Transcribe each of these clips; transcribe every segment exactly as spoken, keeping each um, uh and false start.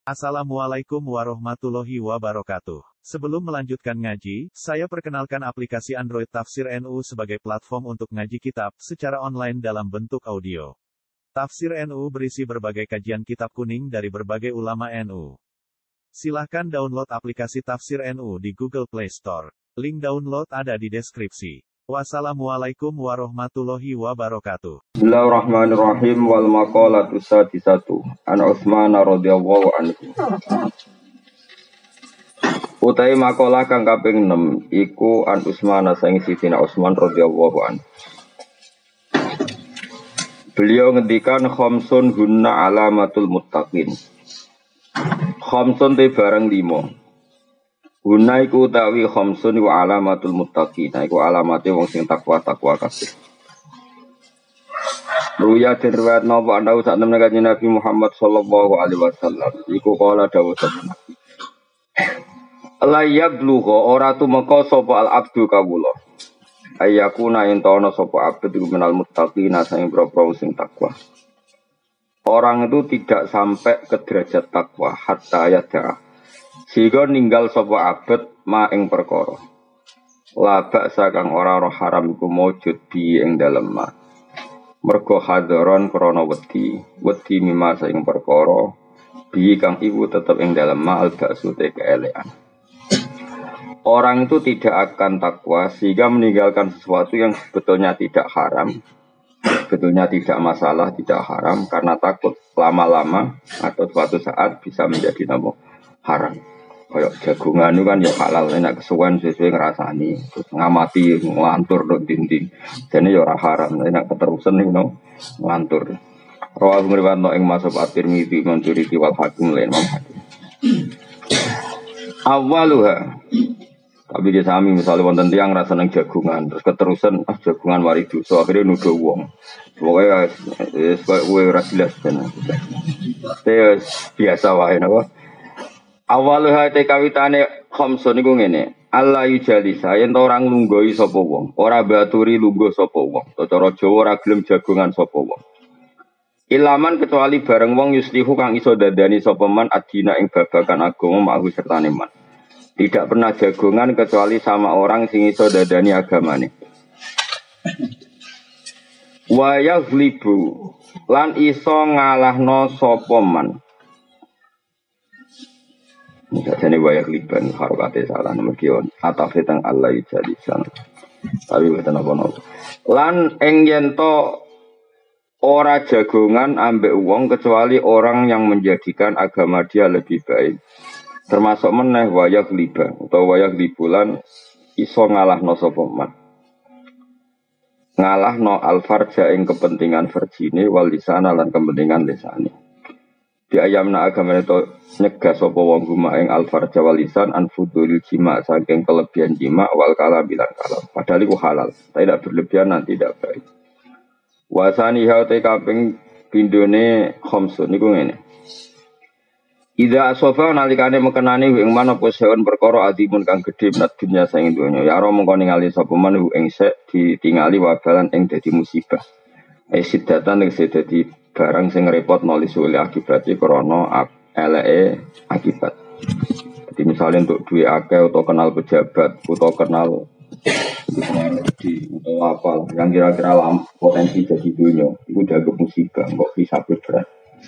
Assalamualaikum warahmatullahi wabarakatuh. Sebelum melanjutkan ngaji, saya perkenalkan aplikasi Android Tafsir N U sebagai platform untuk ngaji kitab secara online dalam bentuk audio. Tafsir N U berisi berbagai kajian kitab kuning dari berbagai ulama N U. Silahkan download aplikasi Tafsir N U di Google Play Store. Link download ada di deskripsi. Wassalamualaikum warahmatullahi wabarakatuh. Bismillahirrahmanirrahim wal maqalatu sadisatu an Utsman radhiyallahu anhu. Utai maqalah kang kaping enam iku an Utsman saing Sidina Utsman radhiyallahu anhu. Beliau ngendikan khamsun hunna alamatul muttaqin. Khamsun te barang limo. Guna iku utawi khamsun wa alamatul muttaqin. Iku alamate wong sing takwa-takwa kabeh. Ruya dirwayat napa ana sak temen kanjeng Nabi Muhammad sallallahu alaihi wasallam. Iku kala dawuh sabda. La yablugha ora tumeka sapa al abdu kawula. Ayakuna entono sapa abdu iku menal muttaqin sing propro sing takwa. Orang itu tidak sampai ke derajat takwa hatta yada. Sehingga ninggal sapa abet ma ing perkara. La baksa kang ora roh haram iku maujud bi ing dalem ma. Mergo hadaron krana wedi, wedi mima ing perkara bi kang iku tetep ing dalem ma al baksu te keelekan. Orang itu tidak akan takwa sehingga meninggalkan sesuatu yang sebetulnya tidak haram. Sebetulnya tidak masalah, tidak haram karena takut lama-lama atau suatu saat bisa menjadi nama haram. Kayak jagungan itu kan ya halal, enak kesuwen sesuai ngerasani, terus ngamati ngelantur dok dinding, jadi ya orang haram, enak keterusan nih no ngelantur. Rawal meriwayat no ing masuk at-Tirmidzi mencuri wal hakim lain mam hakim. Awaluha, tapi dia sami misalnya wonten tiang rasa neng jagungan, terus keterusan ah jagungan wari dosa akhirnya nuduh wong, pokoknya sebagai gue rasilas kan, biasa wae napa. Awaluha te kawitane khamsun iku ngene. Allah yujalisa yen orang lunggoi sapa wong, ora baturi lungguh sapa wong. Cara Jawa ora gelem jagongan sapa wong. Ilaman kecuali bareng wong yuslihu kang iso dadani sapa man adina ing babagan agama mahu sertane man. Tidak pernah jagongan kecuali sama orang sing iso dadani agamane. Wa yaghlibu lan iso ngalahno sapa man. Jadi wayak liban harokate salah nomor kion atau fitang Allah jadi sana. Tapi betul apa nopo. Lan engyento ora jagongan ambek uang kecuali orang yang menjadikan agama dia lebih baik. Termasuk meneh wayak liban atau wayak libulan iso ngalah no sopoman. Ngalah no alfarja ing kepentingan verjine wal lisana lan kepentingan lisane. Di ayamna agama itu nyegah sapa wong guma ing alfarja walisan anfudul jima saking kelebihan jima wal kalam bilan kalam padahal itu halal tidak berlebihan dan tidak baik. Wasani haute kaping pindone khamsun niku ngene. Ida asofa nalikane mekenani ing mana poseon perkara adimun kang gedhe menat dunya saing donya ya ora mongko ningali sapa man ing sek ditingali wabalan ing dadi musibah. Esidatan ing dadi barang sing repot nulis oleh akibatnya krono eleke akibat. Jadi misalnya untuk duit akeh atau kenal pejabat atau kenal di atau apa yang kira-kira lam potensi jadi dunia itu udah ke musibah kok bisa berat.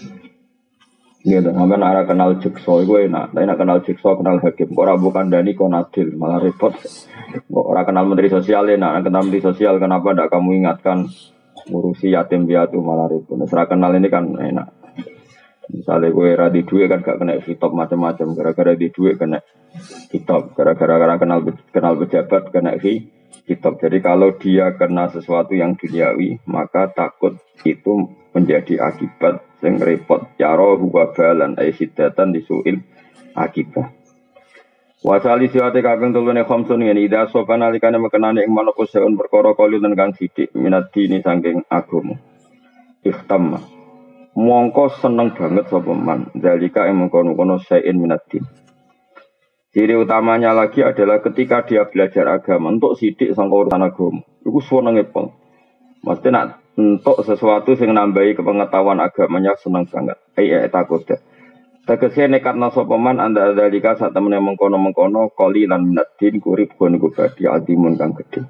Iya, dan sampai nara kenal jekso itu enak. Tapi nak kenal jekso kenal hakim. Orang bukan dani konadil malah repot. Orang kenal menteri sosial enak. Kenal menteri sosial kenapa tidak kamu ingatkan ngurusi yatim piatu malah repot. Serah kenal ini kan enak. Misalnya gue radi duit kan gak kena hitop macam-macam. Gara-gara di duit kena hitop. Gara-gara kenal kenal pejabat kena hitop. Jadi kalau dia kena sesuatu yang duniawi, maka takut itu menjadi akibat yang repot. Yaro huwa balan aisyidatan disuil akibat. Wasali siwate kaping tulune khamsun ngene ida sopan alikane mekenane ing manapa seun perkara kalune kang sithik minat dini saking agama. Ikhtam. Mongko seneng banget sapa man. Zalika ing mengkono-kono sain minat din. Ciri utamanya lagi adalah ketika dia belajar agama untuk sithik sangka urusan agama. Iku senenge pol. Mesti nak untuk sesuatu yang nambahi kepengetahuan agamanya seneng banget. Ai takut. Tegese nekatna sapa man anda dalika sak temene mengkono-mengkono qali lan minadin kurip kon iku badhe adimun kang gedhe.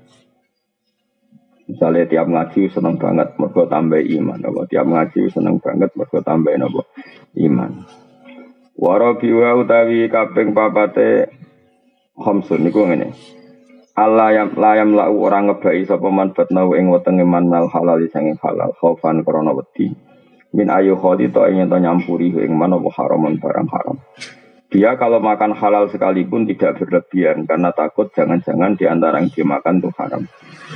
Misalnya tiap ngaji seneng banget mergo tambah iman, apa tiap ngaji seneng banget mergo tambah napa iman. Warabi wa utawi kaping papate khamsun niku ngene. Allah yang layam lau orang ngebai sapa man batnau ing wetenge man mal halal sing halal khaufan krana wedi. Min ayu khodi to ing ento nyampuri ing man apa haramun barang haram. Dia kalau makan halal sekalipun tidak berlebihan karena takut jangan-jangan di antara yang dimakan itu haram.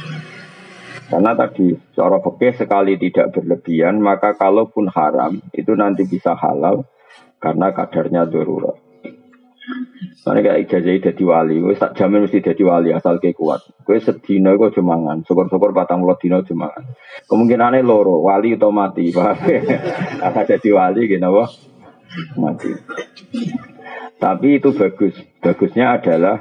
Karena tadi cara fikih sekali tidak berlebihan maka kalaupun haram itu nanti bisa halal karena kadarnya darurat. Soalnya kayak ijazah jadi wali, gue tak jamin mesti jadi wali asal kayak kuat. Gue sedino gue cumangan, syukur-syukur patang puluh dino cumangan. Kemungkinannya loro, wali atau mati, paham? Akan jadi wali gitu, wah mati. Tapi itu bagus, bagusnya adalah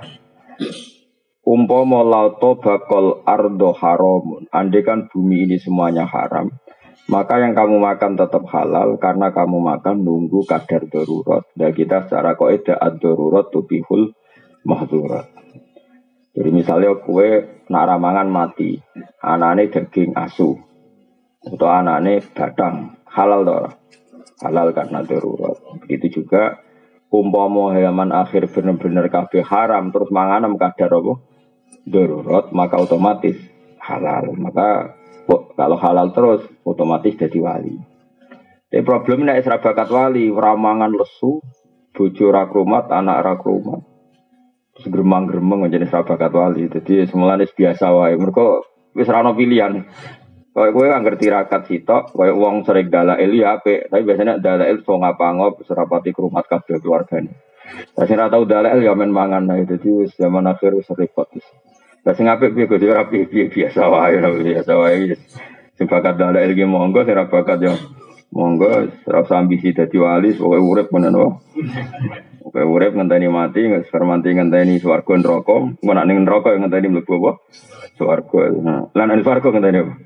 umpama lauto bakal ardo haramun. Andai kan bumi ini semuanya haram. Maka yang kamu makan tetap halal karena kamu makan nunggu kadar darurat. Dan kita secara kaidah ad-darurat tubihul mahzurat. Jadi misalnya kue nak ramangan mati, anane daging asu atau anane badang, halal toh. Halal karena darurat. Begitu juga umpama halaman akhir benar-benar kabeh haram terus manganem kadar apa? Darurat, maka otomatis halal. Maka kalau halal terus otomatis jadi wali. Tapi problemnya nek bakat wali, ramangan lesu, bojo ra krumat, anak ra krumat. Terus gremang-gremeng menjadi bakat wali. Jadi semulane biasa wae. Mergo wis ra ono pilihan. Kowe kowe kan ngerti rakat sitok, kowe wong sering dalail ya apik, tapi biasanya dalail so ngapa-ngop serapati krumat kabeh keluargane. Lah sing ra tau dalail ya men mangan ae. Dadi wis zaman akhir wis repot. Lah sing apik piye Gus ora piye biasa wae biasa wae. Sing bakat dalail iki monggo sing ra bakat yo monggo ora usah ambisi dadi wali pokoke urip ngono wae. Pokoke urip ngenteni mati, ngermanti ngenteni swarga neraka, engko nek ning neraka yo ngenteni mlebu apa? Swarga. Lan ning swarga ngenteni apa?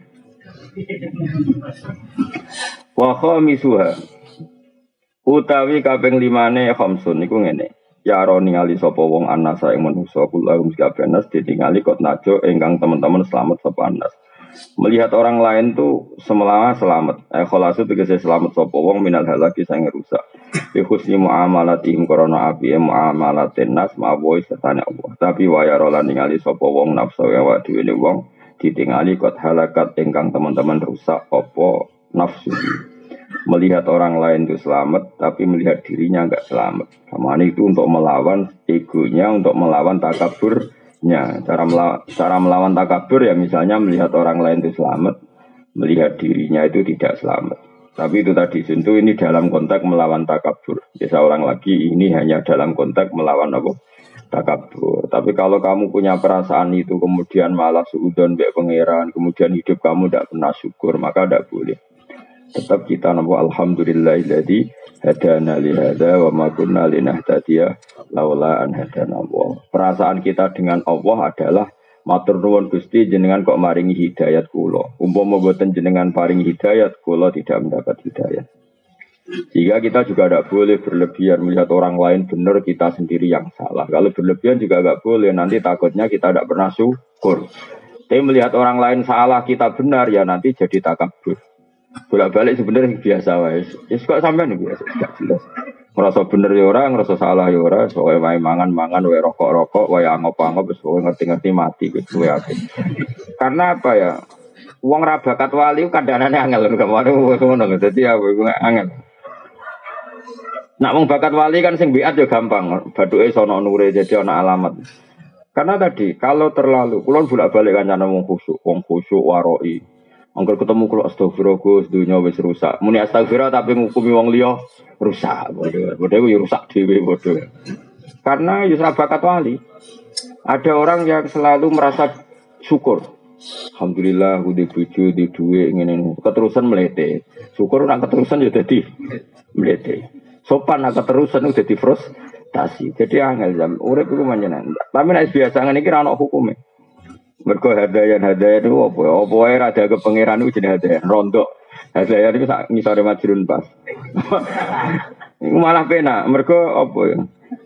Wa khamisuha utawi kaping limane khamsun niku ngene. Ya ro ningali sapa wong anasa ing manusa kula meskabeh ditingali kot najo ingkang teman-teman selamat sapa anas. Melihat orang lain tuh semelawa selamat. Eh kholasu tegese selamat sapa wong minal halaki sing rusak. Bi husni muamalatihim korona api muamalatin nas mawoi setane Allah. Tapi waya rolan ningali sapa wong nafsu awak dhewe wong ditingali kot halakat ingkang teman-teman rusak apa nafsu. Melihat orang lain itu selamat, tapi melihat dirinya enggak selamat. Kamane itu untuk melawan egonya, untuk melawan takaburnya. Cara melawan, cara melawan takabur ya misalnya melihat orang lain itu selamat, melihat dirinya itu tidak selamat. Tapi itu tadi tentu ini dalam konteks melawan takabur. Biasa orang lagi ini hanya dalam konteks melawan apa? Takabur. Tapi kalau kamu punya perasaan itu kemudian malah suudzon mbek pangeran, kemudian hidup kamu tidak pernah syukur, maka tidak boleh. Tetap kita nampak alhamdulillahilladzi hadana li hadza wa ma kunna linahtadiya laula an hadana Allah. Perasaan kita dengan Allah adalah matur nuwun Gusti jenengan kok maringi hidayat kula. Umpama mboten jenengan paringi hidayat kula tidak mendapat hidayat. Jika kita juga tidak boleh berlebihan melihat orang lain benar kita sendiri yang salah. Kalau berlebihan juga tidak boleh, nanti takutnya kita tidak pernah syukur. Tapi melihat orang lain salah kita benar ya nanti jadi takabur. Bolak-balik sebenarnya biasa wae. Wis kok sampean biasa gak jelas. Ngerasa bener ya ora, ngerasa salah ya ora, soalnya wae mangan-mangan, wae rokok-rokok, wae angop-angop wis pokoke ngerti-ngerti mati wis kowe akeh. Karena apa ya? Wong ra bakat wali kandhanane angel kok ngono dadi ya angel. Nak wong bakat wali kan sing biat ya gampang, bathuke sono nure jadi ana alamat. Karena tadi kalau terlalu kulon bolak-balik kancane wong khusyuk, wong khusyuk waroi. Angger ketemu kula astagfirullah Gus dunya wis rusak. Muni astagfirullah tapi ngukumi wong liya rusak. Bodho. Bodho yo rusak dhewe bodho. Karena yo ora bakat wali. Ada orang yang selalu merasa syukur. Alhamdulillah udah bojo di dhuwit ngene. Keterusan mlete. Syukur nek keterusan yo dadi mlete. Sopan nek keterusan udah dadi frustasi. Jadi angel jam urip iku manjenan. Tapi nek biasa ngene iki ra ono hukume. Mergo hadayan-hadayan itu apa ya? Apa ya ada ke pangeran itu jenis hadayan, rondok. Hadayan itu ngisore majrun pas. Iku malah penak, mergo apa ya?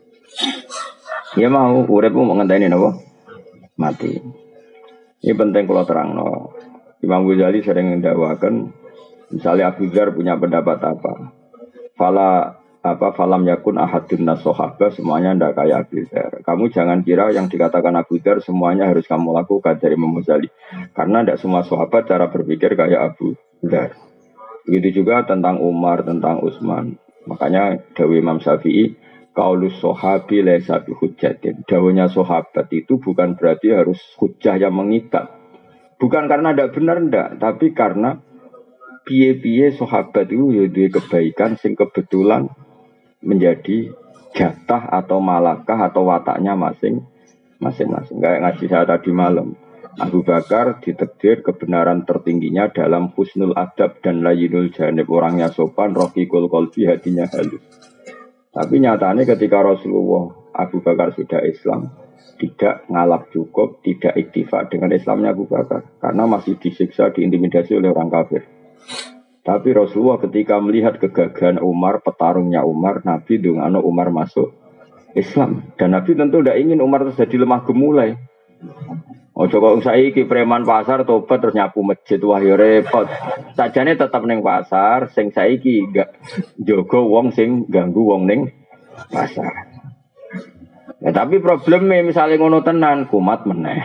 Ya mau urip mau ngenteni napa? Mati. Ini penting kalau terangno. Imam Ghazali sering mendakwakan, misalnya Abu Dzar punya pendapat apa, fala apa falam yakun ahadun nasohaba semuanya ndak kayak Abu Dzar. Kamu jangan kira yang dikatakan Abu Dzar semuanya harus kamu lakukan dari Imam Ghazali, karena tidak semua sahabat cara berpikir kayak Abu Dzar. Begitu juga tentang Umar, tentang Utsman. Makanya dawuh Imam Syafi'i, qaulus sahabi laisa bihujjatin. Dawuhnya sahabat itu bukan berarti harus hujjah yang mengikat. Bukan karena tidak benar ndak, tapi karena piye-piye sahabat itu ya duwe kebaikan sing kebetulan menjadi jatah atau malakah atau wataknya masing masing-masing. Kayak ngaji saya tadi malam. Abu Bakar ditakdir kebenaran tertingginya dalam husnul adab dan layinul janib, orangnya sopan, rohiqul qalbi, hatinya halus. Tapi nyatanya ketika Rasulullah Abu Bakar sudah Islam, tidak ngalap cukup, tidak iktifak dengan Islamnya Abu Bakar, karena masih disiksa, diintimidasi oleh orang kafir. Tapi Rasulullah ketika melihat kegagahan Umar, petarungnya Umar, Nabi dungano Umar masuk Islam. Dan Nabi tentu tidak ingin Umar terjadi lemah gemulai. Oh coba saiki preman pasar tobat terus nyapu masjid, wah ya repot. Sajane tetap ning pasar, sing saiki gak jaga wong sing ganggu wong ning pasar. Ya, tapi problemnya misalnya ngono tenan kumat meneh.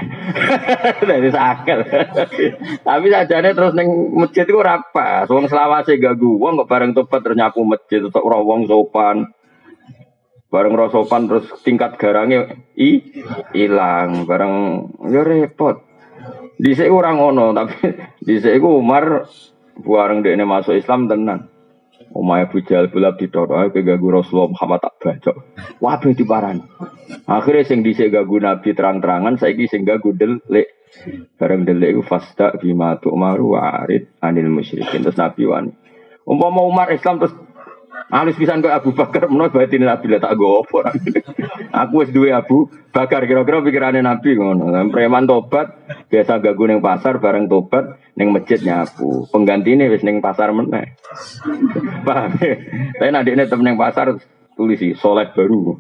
Dari sakel. Tapi sajane terus ning masjid iku ora pas. Wong selawase ganggu wong kok bareng tobat terus nyapu masjid tok ora wong sopan. Bareng rosopan terus tingkat garangnya i hilang, bareng ya repot. Dhisik ora ngono, tapi dhisik iku Umar bareng dekne masuk Islam tenan. Omahe Abu Jahal bulab ditoro ke ganggu Rasulullah Muhammad tak bacok. Wabeh diparani. Akhire sing dhisik ganggu Nabi terang-terangan saiki sing ganggu delik. Bareng delik iku fasta bima tu'maru wa arid anil musyrikin. Terus Nabi wani. Umpama Umar Islam terus alus pisan kok Abu Bakar menawa batine Nabi lah tak go opo. Aku wis duwe Abu Bakar kira-kira pikirane Nabi ngono. Preman tobat biasa ganggu ning pasar bareng tobat ning masjid nyapu. Penggantine wis ning pasar meneh. Paham. Tapi nek dekne tem ning pasar tulisi soleh baru.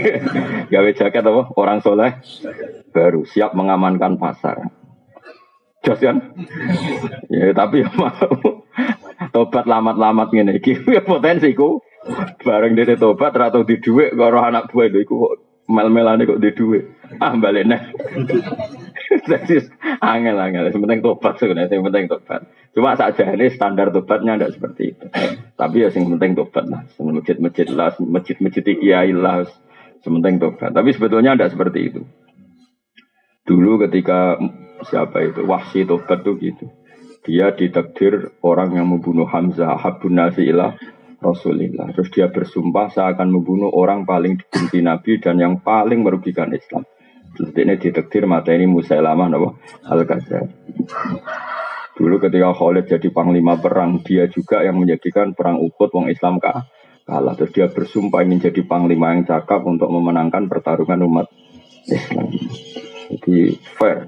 Gawe jaket apa? Orang soleh baru siap mengamankan pasar. Jos kan? Ya tapi mau tobat lamat-lamat ngene iki ya potensi ku bareng dene tobat ra tau di dhuwit karo anak buah lho iku kok mel-melane kok di dhuwit ah balik neh. Jadi angel-angel penting tobat sebenarnya yang penting tobat cuma sakjane standar tobatnya ndak seperti itu tapi ya sing penting tobat lah masjid-masjid lah masjid-masjid kiai lah sementing tobat tapi sebetulnya ndak seperti itu dulu ketika siapa itu Wahsy tobat tuh gitu. Dia ditakdir orang yang membunuh Hamzah habun nasi ilah Rasulillah. Terus dia bersumpah saya akan membunuh orang paling dibenci Nabi dan yang paling merugikan Islam. Terus ini ditakdir mata ini Musailamah Al-Kadzdzab. Dulu ketika Khalid jadi panglima perang, dia juga yang menjadikan perang Uhud wong Islam kalah. Terus dia bersumpah ingin jadi panglima yang cakap untuk memenangkan pertarungan umat Islam. Jadi fair.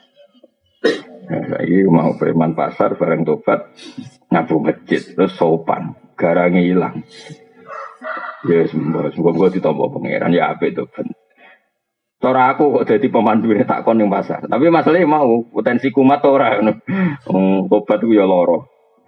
Nah, lagi mau preman pasar bareng tobat nyapu masjid terus sopan garangnya hilang ya semua semua gue ditompo pangeran ya apa itu kan cara aku kok jadi pemandu ini tak kon yang pasar tapi masalahnya mau potensi kumat orang um, tobat itu ya loro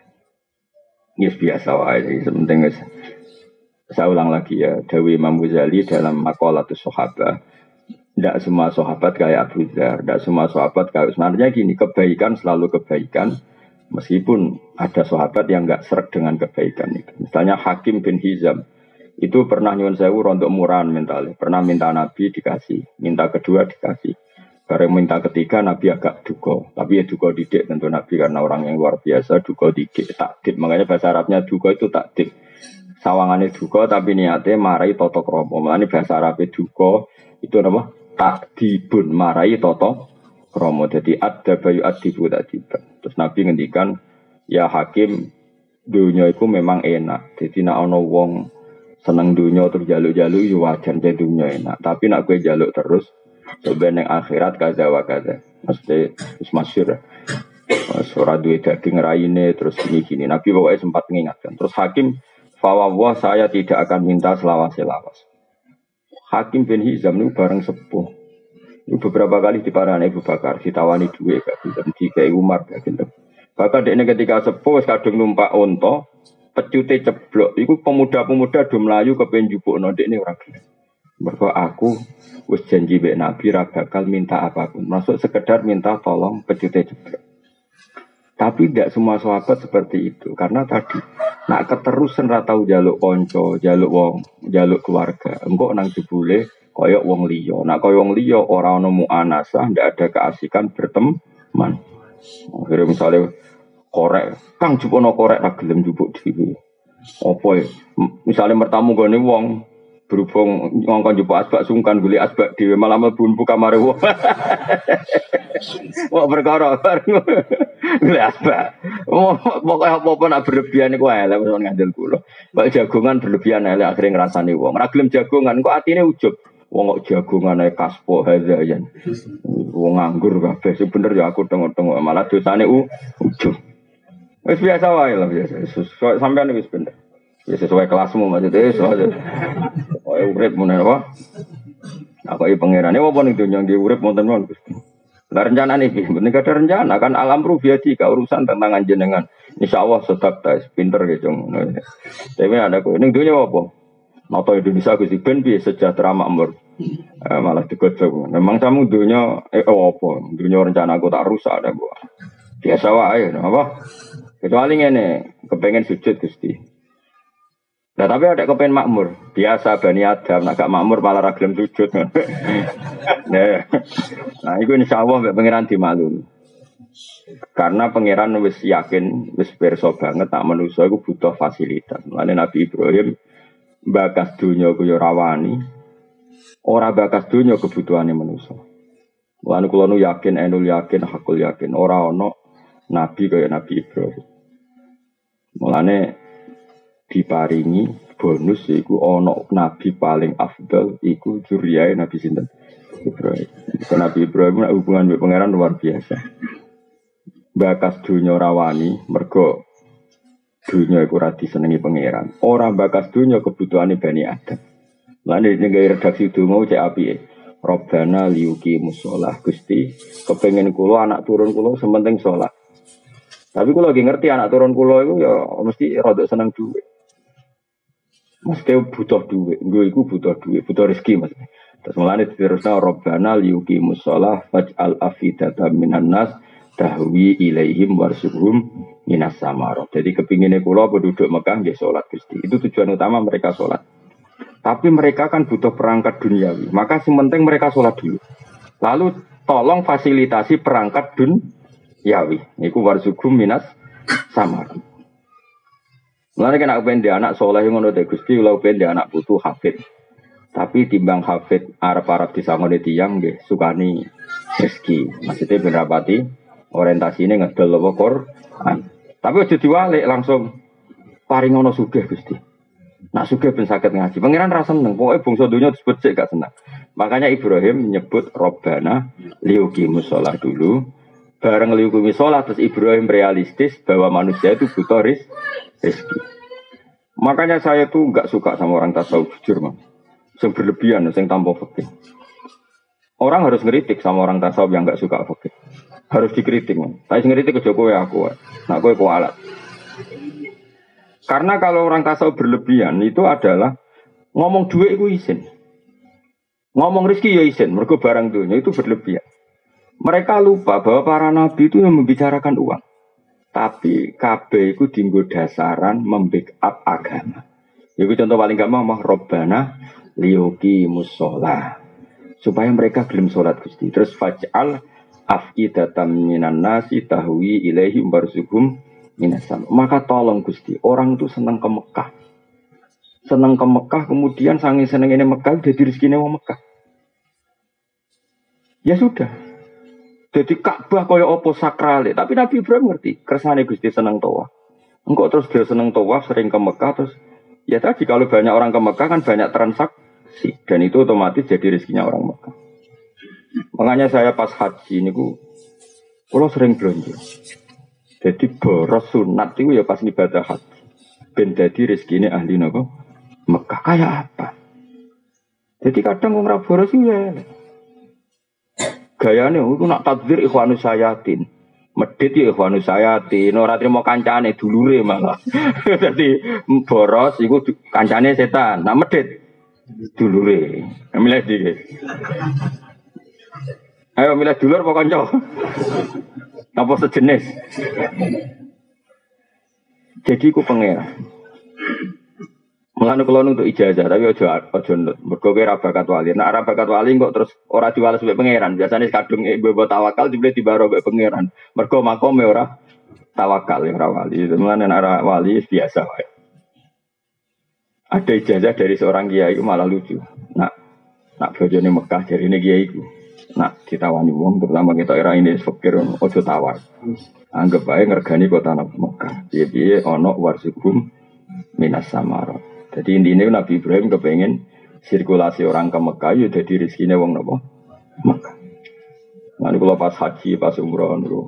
ya biasa wae sementing saya ulang lagi ya Dawi Imam Ghazali dalam Maqalatus Sahabah. Tidak semua sahabat kayak Abu Dzar, tidak semua sahabat kayak sebenarnya gini, kebaikan selalu kebaikan, meskipun ada sahabat yang nggak sreg dengan kebaikan itu. Misalnya Hakim bin Hizam, itu pernah nyuwun sewu rontok murahan mentalnya, pernah minta Nabi dikasih, minta kedua dikasih, bareng minta ketiga Nabi agak duko, tapi ya duko didik tentu Nabi karena orang yang luar biasa, duko didik, takdib, makanya bahasa Arabnya duko itu takdib. Sawangannya duko tapi niatnya marai toto kromo, makanya bahasa Arabnya duko itu apa? Takdibun marai toto kromo jadi ada bayu adibu tadi terus Nabi ngendikan ya Hakim dunia itu memang enak jadi nak ono wong seneng dunia terus jaluk-jaluk ya wajar jadi dunia enak tapi nak gue jaluk terus sebenarnya akhirat kaza wa kaza mesti terus masyhur suara duit daging raine terus gini gini Nabi pokoknya sempat mengingatkan terus Hakim Fawwah saya tidak akan minta selawas-selawas. Hakim bin Hizam itu bareng sepuh. Itu beberapa kali diparani Abu Bakar, ditawani duit gak gelem, dikai Umar gak gelem. Bahkan dia ketika sepuh kadung numpak unta, pecute ceblok. Iku pemuda-pemuda do mlayu kepen njupukno dekne ora gelem. Mergo aku wis janji mbek Nabi ra bakal minta apapun. Masuk sekedar minta tolong pecute ceblok. Tapi tidak semua sahabat seperti itu. Karena tadi, nak keterusan ratau jaluk konco, jaluk wong, jaluk keluarga. Engkau nang jebule koyok wong liya. Nak koyok wong liya orang nemu anasah, tidak ada keasikan berteman. Akhirnya misalnya korek, kang jupono korek ragelem jupuk dhewe. Apa ya? Misalnya mertamu gone wong berhubung ngongkon jupuk asbak sungkan guli asbak dhewe malah mlebu kamare wong. Wah perkara bareng. Gula asbak. Oh, pokoknya apa-apa nak berlebihan iku elek wis ngandel kula. Kok jagongan berlebihan elek akhire ngrasani wong. Ora gelem jagongan kok atine ujug. Wong kok jagongan ae kaspo hazayan. Wong nganggur kabeh. Sing bener ya aku tengok-tengok malah dosane ujug. Wis biasa wae lah biasa. Sampeyan wis bener. Ya sesuai kelasmu maksudnya soalnya. Oh urip mun apa? Aku iki pangerane apa ning donya nggih urip wonten mawon Gusti. Lah rencana nih, penting ada rencana kan alam rubiati ke urusan tentang jenengan. Insyaallah sedap tes pinter gitu. Tapi ada kok ning donya apa? Nata Indonesia Gusti ben piye sejahtera makmur. Eh, malah digojok. Memang kamu donya eh oh, apa? Donya rencana aku tak rusak ada gua. Biasa wae apa? Kecuali ngene, kepengen sujud Gusti. Nah tapi ada kepengen makmur, biasa Bani Adam, nak gak makmur malah ragilem sujud. Nah, nah itu insya Allah pengiran dimaklumi. Karena pengiran wis yakin, wis perso banget, tak manusia itu butuh fasilitas. Makanya Nabi Ibrahim bakas dunia ku yo rawani, ora bakas dunia kebutuhannya manusia. Makanya kalau nu yakin, enul yakin, hakul yakin, ora ono Nabi kaya Nabi Ibrahim. Makanya diparingi bonus iku ono nabi paling afdal iku juriyae Nabi sinten Ibrahim. Nabi Ibrahim hubungan mbek pangeran luar biasa. Bakas dunya rawani mergo dunya iku ora disenengi pangeran. Ora bakas dunya kebutuhane Bani Adam. Lan nek nggawe redaksi donga cek apike. Robbana liyuki musholah Gusti, kepengin kula anak turun kula sementing salat. Tapi kula lagi ngerti anak turun kula iku ya mesti rada seneng dhuwit. Mesti butuh duit, gue itu butuh duit, butuh rezeki mas. Terus mulanya diterusnya Robbana liyuqimus shalah faj'al afidata minan nas tahwi ilaihim warsuhum minas samarot. Jadi kepinginnya kula penduduk Mekah nggih salat Gusti. Itu tujuan utama mereka salat. Tapi mereka kan butuh perangkat duniawi. Maka yang penting mereka salat dulu. Lalu tolong fasilitasi perangkat duniawi. Iku warsuhum minas samarot. Mulane kena kepen dia anak soleh ngono te Gusti, kula kepen dia anak putu hafid. Tapi timbang hafid arep-arep disangone tiyang nggih sukani rezeki. Maksudnya ben rapati orientasine ngedol apa Quran. Tapi aja diwalik langsung paring ngono sugih Gusti. Nak sugih ben saged ngaji. Pangeran ra seneng, pokoke bangsa donya disebut sik gak seneng. Makanya Ibrahim menyebut Robbana liyuqimus shalah dulu. Bareng liyuqimus shalah terus Ibrahim realistis bahwa manusia itu butuh rizki. Rezeki. Makanya saya tuh nggak suka sama orang tasawuf jujur mas, yang berlebihan, yang tanpa fikih. Orang harus ngeritik sama orang tasawuf yang nggak suka fikih, harus dikritik mas. Tapi ngeritik ke Jokowi aku, nak gue kualat. Karena kalau orang tasawuf berlebihan itu adalah ngomong duit itu izin, ngomong rezeki ya izin, mergo barang dunia itu berlebihan. Mereka lupa bahwa para nabi itu yang membicarakan uang. Tapi K B itu dienggo dasaran membackup agama. Itu contoh paling gampang mah Robbana liyuqimus shalah. Supaya mereka gelem salat Gusti. Terus faj'al afidatan minan nasi tahwi ilaihim warzuqhum minas sam. Maka tolong Gusti, orang itu senang ke Mekah. Senang ke Mekah kemudian saking senengane Mekah jadi rezekine wong Mekah. Ya sudah. Jadi Ka'bah kaya apa sakrale, tapi Nabi Ibrahim ngerti, kersane Gusti seneng tawaf. Engkau terus dia seneng tawaf, sering ke Mekah terus ya tadi kalau banyak orang ke Mekah kan banyak transaksi dan itu otomatis jadi rezekinya orang Mekah. Makanya saya pas haji niku kula sering belanja. Jadi boros sunat itu ya pas ibadah haji. ben dadi rezekine ahli napa Mekah kaya apa. Jadi kadang wong ra boros ya. Gayane iku nak takdir ikhwanus sayatin. Medhit ya ikhwanus sayatin, ora trimo kancane dulure malah. Dadi boros iku kancane setan. Nak medhit dulure. Milih iki. Ayo milih dulur apa kanca? Apa sejenis? Jadi ku pangeran. Mulane kula untuk ijazah tapi aja aja nut. Mergo kowe ra bakat wali. Nek ra bakat wali kok terus ora diwales mbek pangeran. Biasane kadung mbok tawakal dibeli dibaro mbek pangeran. Mergo makome ora tawakal ora wali. Mulane nek ra wali biasa wae. Ada ijazah dari seorang kiai itu malah lucu. Nak nak bojone Mekah jarine kiai iku. Nak ditawani wong terutama kita era ini fakir ojo tawar. Anggap bae ngergani kota Mekah. Piye-piye ana warsukum minas samarot. Jadi intinya Nabi Ibrahim kepengen sirkulasi orang ke Mekah ya jadi rezekine wong napa? Mekah. Nanti kalau pas haji, pas umroh niku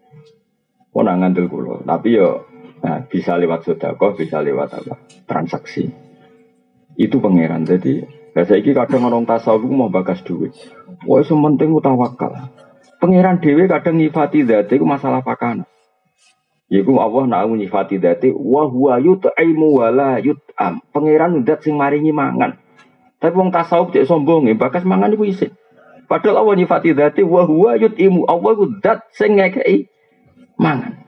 ora ngandel kula, tapi yo nah, bisa lewat sedekah, bisa lewat apa? Transaksi. Itu pangeran. Jadi saiki kadang orang tasawuf mau bakas duit. Wah, sementing tawakal. Pangeran dhewe kadang nyifati zat iku masalah pakana. Yiku Allah nak nyifati dzati wa huwa yut'imu wa la yut'am. Pangeran zat sing maringi mangan. Tapi wong tasawuf cek sombong bakas mangan iku isin. Padahal Allah nyifati dzati wa huwa yut'imu. Allah iku zat sing ngekeki mangan.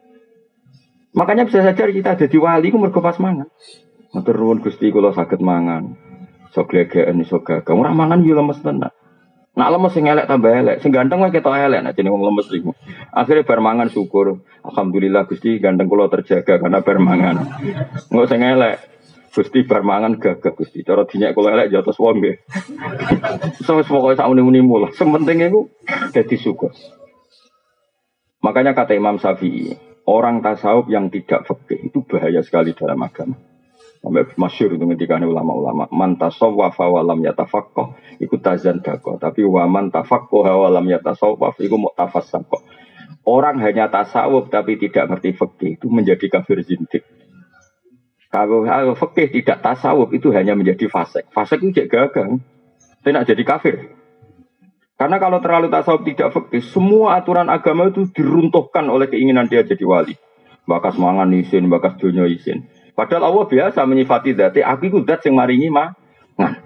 Makanya bisa saja kita dadi wali ku mergo pas mangan. Matur nuwun Gusti kula saged mangan. Sok glegeken iso gagah. Ora mangan yo lemes tenan. Nak lemes sing elek tambah elek, sing ganteng wae ketok elek nek jeneng wong lemes iku. Akhire bar mangan syukur. Alhamdulillah Gusti ganteng kula terjaga karena bar mangan. Engko sing elek Gusti bar mangan gagah Gusti. Cara dinyek kula elek jotos wong nggih. Wis pokoke sak muni-munimu lah. Sing penting iku dadi syukur. Makanya kata Imam Syafi'i, orang tasawuf yang tidak fikih itu bahaya sekali dalam agama. Sampai masyhur itu ketika ulama-ulama man tasawwafa wa lam yatafaqqah iku tazan dako, tapi wa man tafaqqaha wa lam yatasawwaf iku mu'tafassaqah. Orang hanya tasawuf tapi tidak ngerti fikih itu menjadi kafir zindik. Kalau fikih tidak tasawuf itu hanya menjadi fasik. Fasik itu cek gagal. Tidak jadi kafir. Karena kalau terlalu tasawuf tidak fikih, semua aturan agama itu diruntuhkan oleh keinginan dia jadi wali. Bakas mangan isin, bakas dunya isin. Padahal Allah biasa menyifati dzati, aku iku zat sing maringi mangan.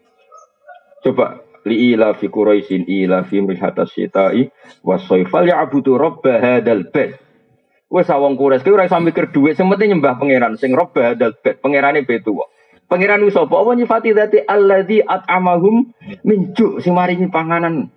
Coba li ila fi quraisin ila fi mrihatas syita'i was-sayfal ya'budu rabb hadzal bait. Wes wong Quraisy ki ora iso mikir dhuwit, sing penting nyembah pangeran sing rabb hadzal bait, pangerane betu. Pangeran ku sapa? Apa nyifati dzati allazi at'amahum min ju' sing maringi panganan.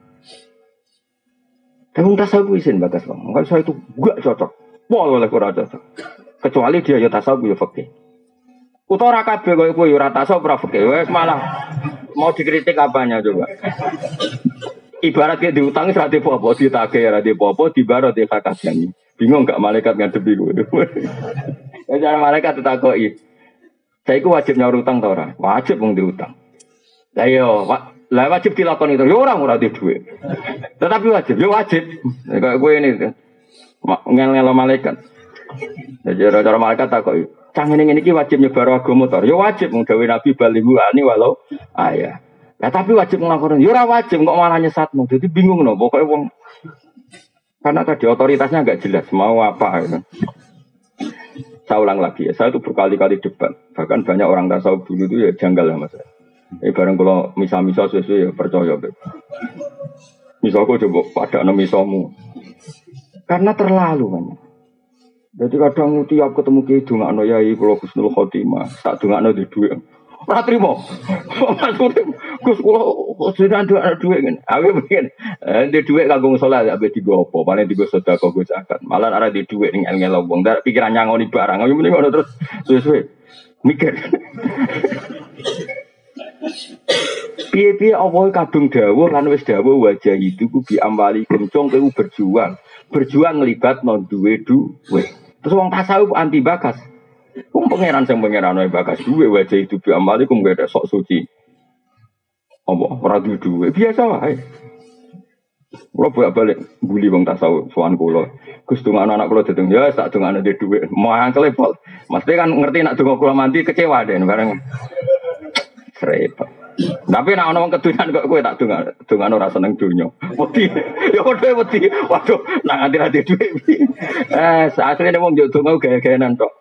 Tapi tasawuf isin bakas wong. Kalau saya itu gak cocok. Pol oleh ora cocok. Kecuali dia ya tasawuf ya fikih. Utawa ora kabeh koyo kowe ora tasawuf ora fikih. Wes malah mau dikritik apanya coba. Ibarat kayak diutang ora di apa-apa, ditagih ora di apa-apa, dibaro di kakakane. Bingung gak malaikat ngadepi kowe. Ya cara malaikat ditakoki. Saya iku wajib nyaur utang ta ora? Wajib wong diutang. Lah yo, lah wajib dilakoni itu. Yo ora ora di dhuwit. Tetapi wajib, yo wajib. Kayak kowe ini ngel-ngelo malaikat. Jadi cara malaikat tak kok, cang ini ini wajib nyebar agama motor, ya wajib menggawe nabi balihu ani walau ayah. Ya tapi wajib ngelakukan, ya ora wajib kok malah nyesatmu. Jadi bingung no, pokoknya wong karena tadi otoritasnya nggak jelas mau apa. Gitu. Saya ulang lagi ya, saya itu berkali-kali debat, bahkan banyak orang tasawuf dulu itu ya janggal ya mas. Eh bareng kalau misal-misal sesuai ya percaya. Misal kau coba pada nama misalmu, karena terlalu banyak. Jadi kadang tiap ketemu ki dongakno yai kula Husnul Khotimah, tak dongakno di dhuwit. Ora trimo. Maksudnya Gus kula sedang nduwek dhuwit ngene. Aku mungkin eh di dhuwit kanggo salat ape digo apa, paling digo sedekah go zakat. Malah ora di dhuwit ning ngel-ngel wong, ndak pikiran nyangoni barang. Aku mending ngono terus suwe-suwe mikir. Piye-piye apa kadung dawuh lan wis dawuh wajah itu ku bi amali kencong kowe berjuang. Berjuang nglibatno duwe duwe. Terus wong tasawuf anti bakas. Wong pangeran sing pangeran wae bakas duwe wajah itu bi amalikum gak ada sok suci. Apa ora duwe duwe biasa wae. Kulo bolak-balik bully wong tasawuf sowan kulo. Gus dongakno anak kulo dadi ya tak dongakno dhe dhuwit. Mangkel pol. Mesti kan ngerti nek donga kulo mandi kecewa deh bareng. Repot. Tapi nek ana wong kedunan kok kowe tak dongakno dongakno ora seneng donya. Wedi. Ya padha wedi. Waduh, nak nganti ra dhe dhuwit. Eh, asline wong yo donga gaya-gayanan tok.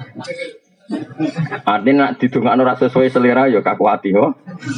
Artinya nak didongakno ora sesuai selera ya kakuati ho.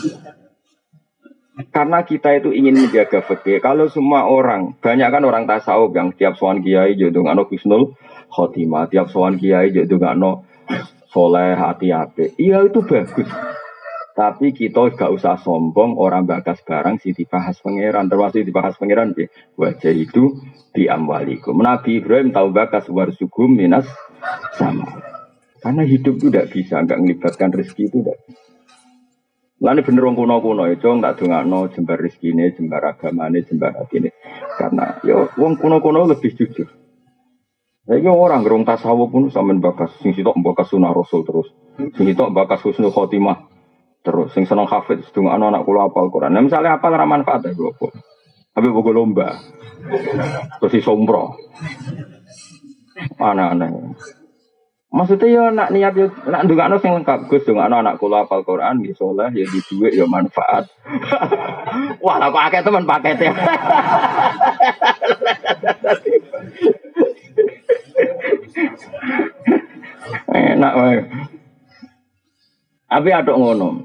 Karena kita itu ingin menjaga fikih. Kalau semua orang, banyak kan orang tasawuf yang tiap sowan kiai yo ndongakno husnul khotimah, tiap sowan kiai yo ndongakno soleh hati-hati. Iya itu bagus. Tapi kita gak usah sombong orang bakas barang si dibahas pangeran, termasuk dibahas pangeran bi wajah itu di amwalikum. Nabi Ibrahim tahu bakas warsugum minas sama. Karena hidup itu tidak bisa, enggak melibatkan rezeki itu tidak. Lalu bener wong kuno-kuno itu tak dongakno jembar rezekine, jembar agamane, jembar atine. Karena yo wong kuno-kuno lebih jujur. Saiki orang gerung tasawuf pun sampean bakas sing sitok bakas sunah rasul terus. Sing sitok bakas husnul khotimah terus. Sing seneng hafid dongakno anak kula hafal Quran. Nah, misalnya hafal ora manfaat ya kula. Habis bogo lomba. Terus isompro. Aneh-aneh. Maksudnya ya nak niat yo nak ndongakno sing lengkap Gus ndongakno anak kula hafal Quran ya saleh ya di dhuwit ya manfaat. Wah, lah kok akeh temen pakete. Enak wae. Abi aduk ngono.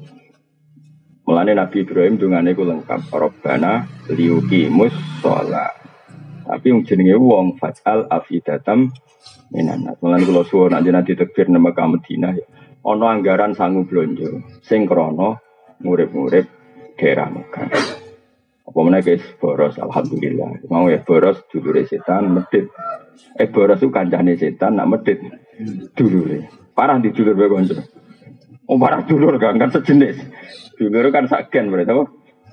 Mulane Nabi Ibrahim dungane ku lengkap Rabbana liyuqimus shalah. Tapi yang jenenge wong fajal afidatam minanat. Mulane kula suwun nek nanti takbir nang Mekah Madinah ya. Ana anggaran sangu blonjo sing krana ngurip-ngurip daerah Mekah. Apa meneh guys boros alhamdulillah. Mau ya boros dulure setan medhit. Eh boros ku kancane setan nak medhit dulure. Parah di dulur wae kanca. Oh parah dulur kan kan sejenis. Dulur kan saken berarti apa?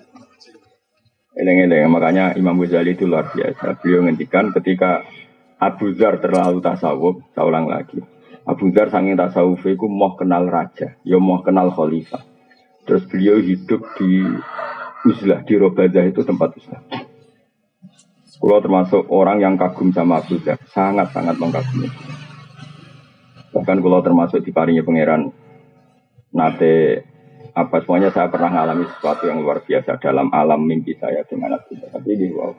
Eleng-eleng, makanya Imam Ghazali itu luar biasa. Beliau ngendikan ketika Abu Dzar terlalu tasawuf, saya ulang lagi. Abu Dzar saking tasawuf itu mau kenal raja, ya mau kenal khalifah. Terus beliau hidup di uzlah, di Robadah itu tempat uzlah. Kalau termasuk orang yang kagum sama Abu Dzar, sangat-sangat mengagumi. Bahkan kalau termasuk diparingi pangeran nate apa semuanya saya pernah mengalami sesuatu yang luar biasa dalam alam mimpi saya dengan Abu Dzar. Tapi ini wow.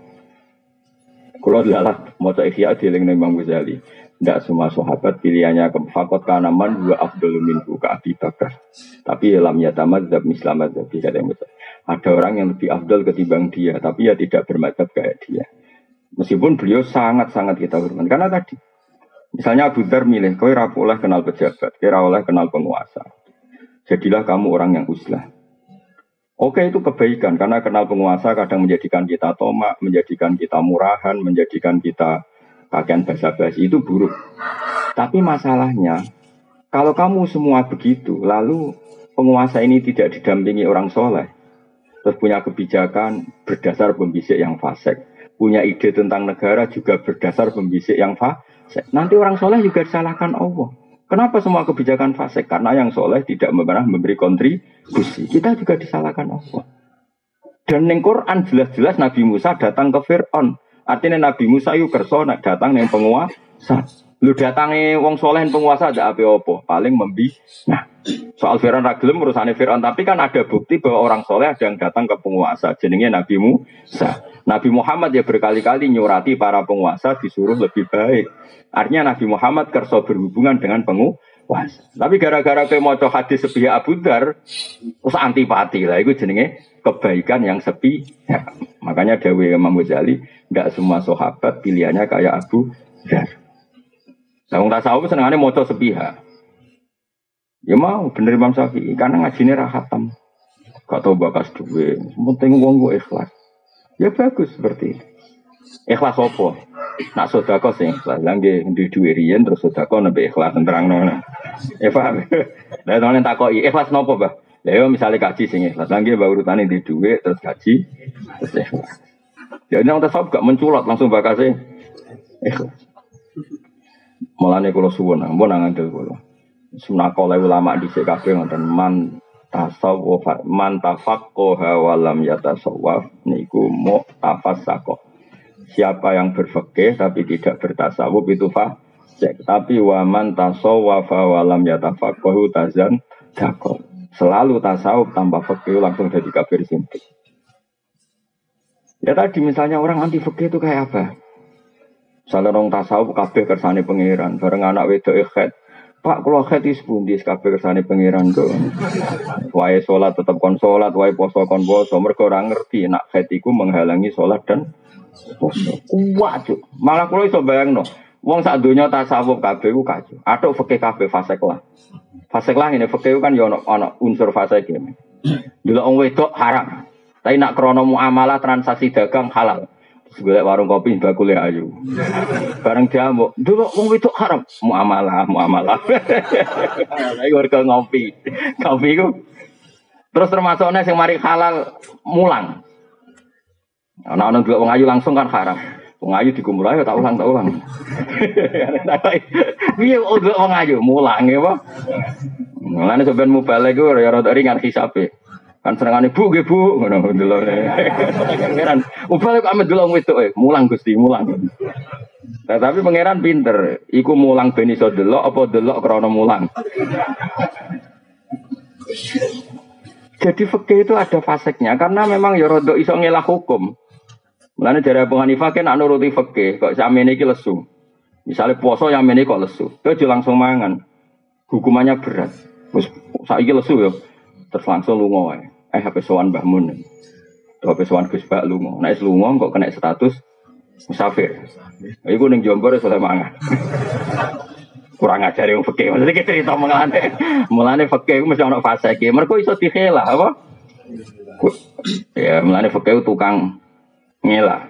Kalau dilalat mau cek Ihya dieling nang Imam Ghazali. Tidak semua sahabat pilihannya ke fakot kanaman dua afdalu minhu ka Abi Bakar. Tapi lam yatamadzab mislamadzab tidak ada yang betul. Ada orang yang lebih afdal ketimbang dia, tapi ya tidak bermadzhab kayak dia. Meskipun beliau sangat-sangat kita hormat. Karena tadi misalnya Abu Dzar milih kowe ora oleh kenal pejabat, kowe ora oleh kenal penguasa. Jadilah kamu orang yang uzlah. Oke itu kebaikan karena kenal penguasa kadang menjadikan kita tomak, menjadikan kita murahan, menjadikan kita kakean basa-basi itu buruk. Tapi masalahnya kalau kamu semua begitu, lalu penguasa ini tidak didampingi orang soleh, terus punya kebijakan berdasar pembisik yang fasik, punya ide tentang negara juga berdasar pembisik yang fasik. Nanti orang soleh juga disalahkan Allah. Kenapa semua kebijakan fasik? Karena yang soleh tidak pernah memberi kontribusi. Kita juga disalahkan Allah. Dan di Quran jelas-jelas Nabi Musa datang ke Fir'aun. Artinya Nabi Musa itu kerso datang yang penguasa. Lu datangi wong soleh penguasa ada apa-apa. Paling membi. Nah, soal Fir'aun ragilem urusannya Fir'aun. Tapi kan ada bukti bahwa orang soleh ada yang datang ke penguasa. Jenenge Nabi Musa. Nabi Muhammad ya berkali-kali nyurati para penguasa disuruh lebih baik. Artinya Nabi Muhammad kerso berhubungan dengan penguasa. Tapi gara-gara ke moco hadis sepihak Abu Dzar, terus antipati lah. Itu jenenge kebaikan yang sepi. Ya, makanya Dawe Imam Ghazali, tidak semua sahabat pilihannya kayak Abu Dzar. Nah, orang tasawuf senangannya moco sepihak. Ya mau bener Imam Syafi'i karena ngajinya rahatam. Gak tau bakas duwe. Penting wong gue ikhlas. Ya bagus seperti itu. Ikhlas apa? Nak sedekah sing ikhlas. Lah nggih ndi duwe riyen terus sedekah nembe ikhlas terangno. Ya paham. Lah tenan takoki ikhlas napa, Mbah? Lah yo misale kaji sing ikhlas. Lah nggih mbah urutane ndi duwe terus kaji terus ikhlas. Ya nek tasawuf gak menculot langsung bakase ikhlas. Mulane kula suwun, ampun ngandel kula. Sunah kala ulama dhisik kabeh ngoten man tasawuf man tafaqqaha wa lam yatasawwaf niku mu'tafassaqah. Siapa yang berfikih tapi tidak bertasawuf itu fasik. Tapi wa man tasawwafa wa lam yatafaqqahu tazan dakol. Selalu tasawuf tanpa fikih langsung jadi kafir sindik. Ya tadi misalnya orang anti fikih itu kayak apa? Misalnya orang tasawuf kabeh kersane pangeran, bareng anak wedok ikhet. Pak, kalau khetis pun di kabeh kersane pangeran tuh. Wae sholat tetap kon sholat, wae poso kon poso. Mereka orang ngerti nak khetiku menghalangi sholat dan poso. Kuat cuk. Malah kalau iso bayangno, wong sak donya tasawuf kabeh ku kacau. Atuk fikih kabeh fasik lah. Fasik lah ini fikih kan yo ono ono unsur fasik iki. Delok wong wedok haram. Tapi nak krana muamalah transaksi dagang halal. Golek warung kopi bakule ayu. Bareng diamuk, dulu wong wedok haram, muamalah, muamalah. Ayo warga ngopi. Kopi ku. Terus termasuknya sing mari halal mulang. Ana-ana delok wong ayu langsung kan haram. Wong ayu dikumpul ayo tak ulang tak ulang. Piye kok delok wong ayu mulang ya, Pak? Mulane sampean mubalek ku ya rada ringan hisabe. Kan senengane bu nggih bu ngono delok. Pangeran, upale kok amet delok wedok e, mulang Gusti, mulang. Nah, tapi pangeran pinter, iku mulang ben iso delok apa delok krana mulang. Jadi fikih itu ada faseknya karena memang ya rada iso ngelah hukum. Mulane jare Abu Hanifah kan nek nuruti fikih kok samene iki lesu. Misale puasa yang mene kok lesu, aja langsung mangan. Hukumannya berat. Wis saiki lesu ya. Terus langsung lunga wae. Eh H P sowan Mbah Mun. H P sowan Gus Bak lunga. Nek lunga kok kena status musafir. Iku ning Jombor iso mangan. Kurang ajar yang fikih. Maksudnya kita cerita mengalami. Mulane fikih itu mesti ono fase iki. Mergo iso dikhelah apa? Ya, mulane fikih tukang ngelah.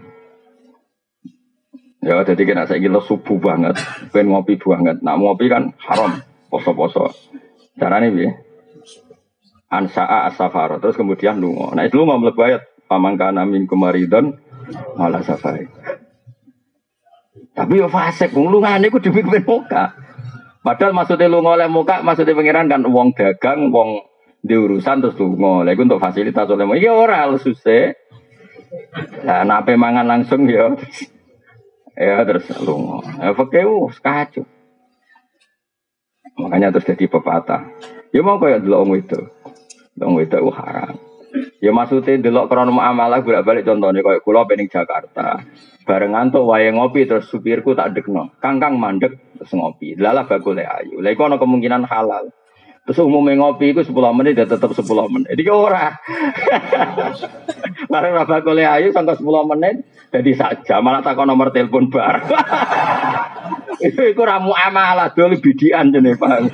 Ya, jadi kena saiki lo subuh banget, ben ngopi banget. Nak ngopi kan haram, poso-poso. Carane piye? Ansa'a as-safar. Terus kemudian lunga. Nah, itu lunga mlebu ayat pamangkana min kumaridon malah safari. Tapi yo fasik wong lungane iku demi ben muka. Padahal maksudnya lunga oleh muka, maksudnya pangeran kan wong dagang, wong di urusan terus lunga. Lha iku untuk fasilitas oleh muka. Iya ora susah. Lah nape mangan langsung ya. Ya terus lunga. Ya fakeu kacau. Makanya terus jadi pepatah. Ya mau kaya delok wong itu. Wong itu haram. Ya maksudnya delok krana muamalah bolak-balik contohnya kaya kula pening Jakarta. Bareng ngantuk wae ngopi terus supirku tak dekno. Kangkang mandek terus ngopi. Lalah bakule ayu. Lah iku ana kemungkinan halal. Terus umumnya ngopi itu sepuluh menit ya tetap sepuluh menit. Jadi ora. Bareng bakule ayu sampai sepuluh menit jadi saja malah takon nomor telepon bar. Itu iku ra muamalah dol bidian jenenge Pak.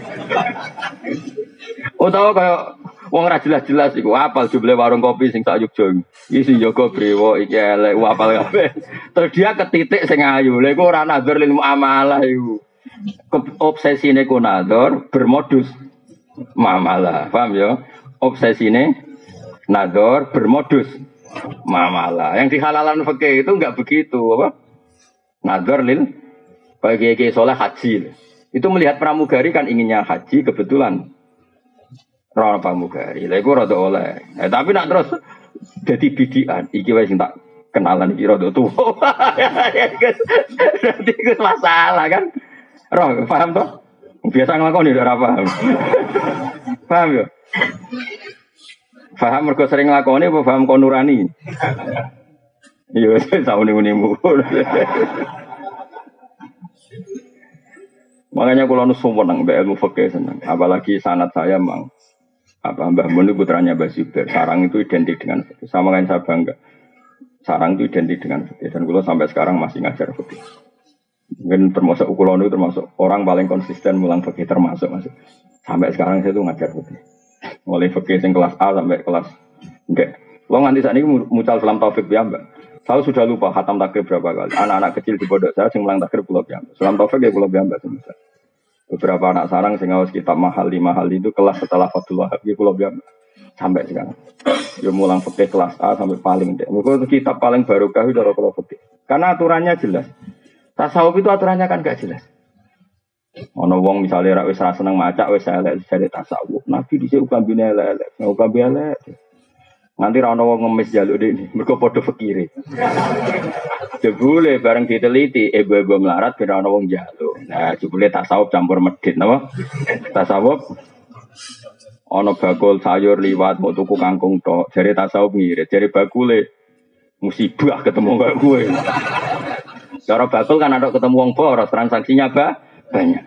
Utawa kaya wong ra jelas-jelas iku apal jumlah warung kopi sing sak Yogya. Iki sing jaga brewo iki elek apal kabeh. Terus dia ketitik sing ayu. Lha iku ora nazar lil muamalah iku. Obsesine ku nazar bermodus muamalah. Paham ya? Obsesine nazar bermodus muamalah. Yang dihalalan fikih itu enggak begitu, apa? Nazar lil bagi kiai soleh haji. Itu melihat pramugari kan inginnya haji kebetulan. Rana pramugari, lha iku rada oleh. Eh, tapi nak terus dadi bidian, iki wae sing tak kenalan iki rada tuwa. Dadi iku masalah kan. Roh, paham toh? Biasa nglakoni ora paham. Paham ya? Paham mergo sering nglakoni apa paham kon nurani? Iya, sauni-unimu. Makanya kalau nu seneng mbek ilmu fikih seneng, apalagi sanad saya mang apa Mbah Mun putranya Mbah Zubair. Sarang itu identik dengan fikih. Sama kan saya bangga. Sarang itu identik dengan fikih dan kula sampai sekarang masih ngajar fikih. Mungkin termasuk kula nu termasuk orang paling konsisten mulang fikih termasuk masih. Sampai sekarang saya tuh ngajar fikih. Mulai fikih sing kelas A sampai kelas enggak. Lo nganti saat ini mucal salam taufik ya Mbak. Saya sudah lupa khatam takrib berapa kali. Anak-anak kecil di pondok saya sing mulang takrib kula piyambak. Salam taufik ya kula piyambak semisal. Beberapa anak sarang sing ngawas kitab mahal lima hal itu kelas setelah Fathul Wahab ya kula piyambak. Sampai sekarang. Ya mulang fikih kelas A sampai paling ndek. Mergo kitab paling barokah itu cara kula fikih. Karena aturannya jelas. Tasawuf itu aturannya kan gak jelas. Ana wong misale ra wis ra seneng macak wis elek jare tasawuf. Nabi dhisik ukambine elek, ukambe elek. Nganti ra ana wong ngemis jaluk dekne, mergo padha fikire. Jebule bareng diteliti ibu-ibu melarat ben ana wong jaluk. Nah, jebule tasawuf campur medhit napa? Tasawuf ana bakul sayur liwat mau tuku kangkung tok. Jare tasawuf ngirit, jare bakule musibah ketemu kaya kowe. Cara bakul kan ada ketemu wong boros, transaksinya apa? Banyak.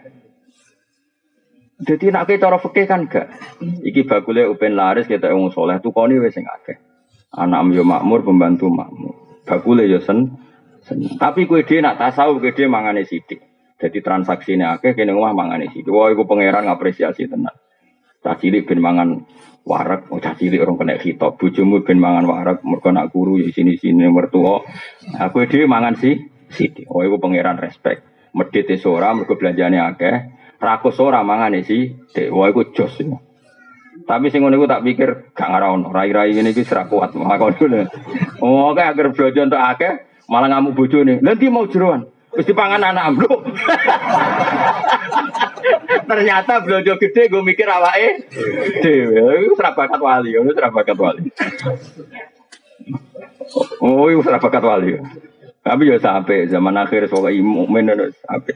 Jadi nak cara fikih kan gak. Iki bakule upen laris kita wong saleh tukone wis sing akeh. Anak yo makmur, pembantu makmur. Bakule yo sen, sen. Tapi kowe dhewe nak tasawuf kowe dhewe mangane sithik. Jadi transaksine akeh kene omah mangane sithik. Wah iku pangeran ngapresiasi tenan. Cah cilik ben mangan warak, oh cah cilik orang kena khitab. Bojomu ben mangan warak, mergo nak guru ya sini-sini mertua. Aku dhewe mangan sih sithik. Oh iku pangeran respect. Medhit e ora mergo belanjane akeh. Rakus ora mangane sih. Wah iku jos. Tapi sing ngono iku tak pikir gak ngarono. Rai-rai ngene iki serak kuat makone. Oh kae agar belanja entuk akeh malah ngamuk bojone. Lha ndi mau jeroan? Wis dipangan anak ambluk. Ternyata belanja gede gue mikir awake dhewe. Iku ora bakat wali, iku ora bakat wali. Oh, iku ora bakat wali. Tapi ya sampai zaman akhir soal mukmin sampai.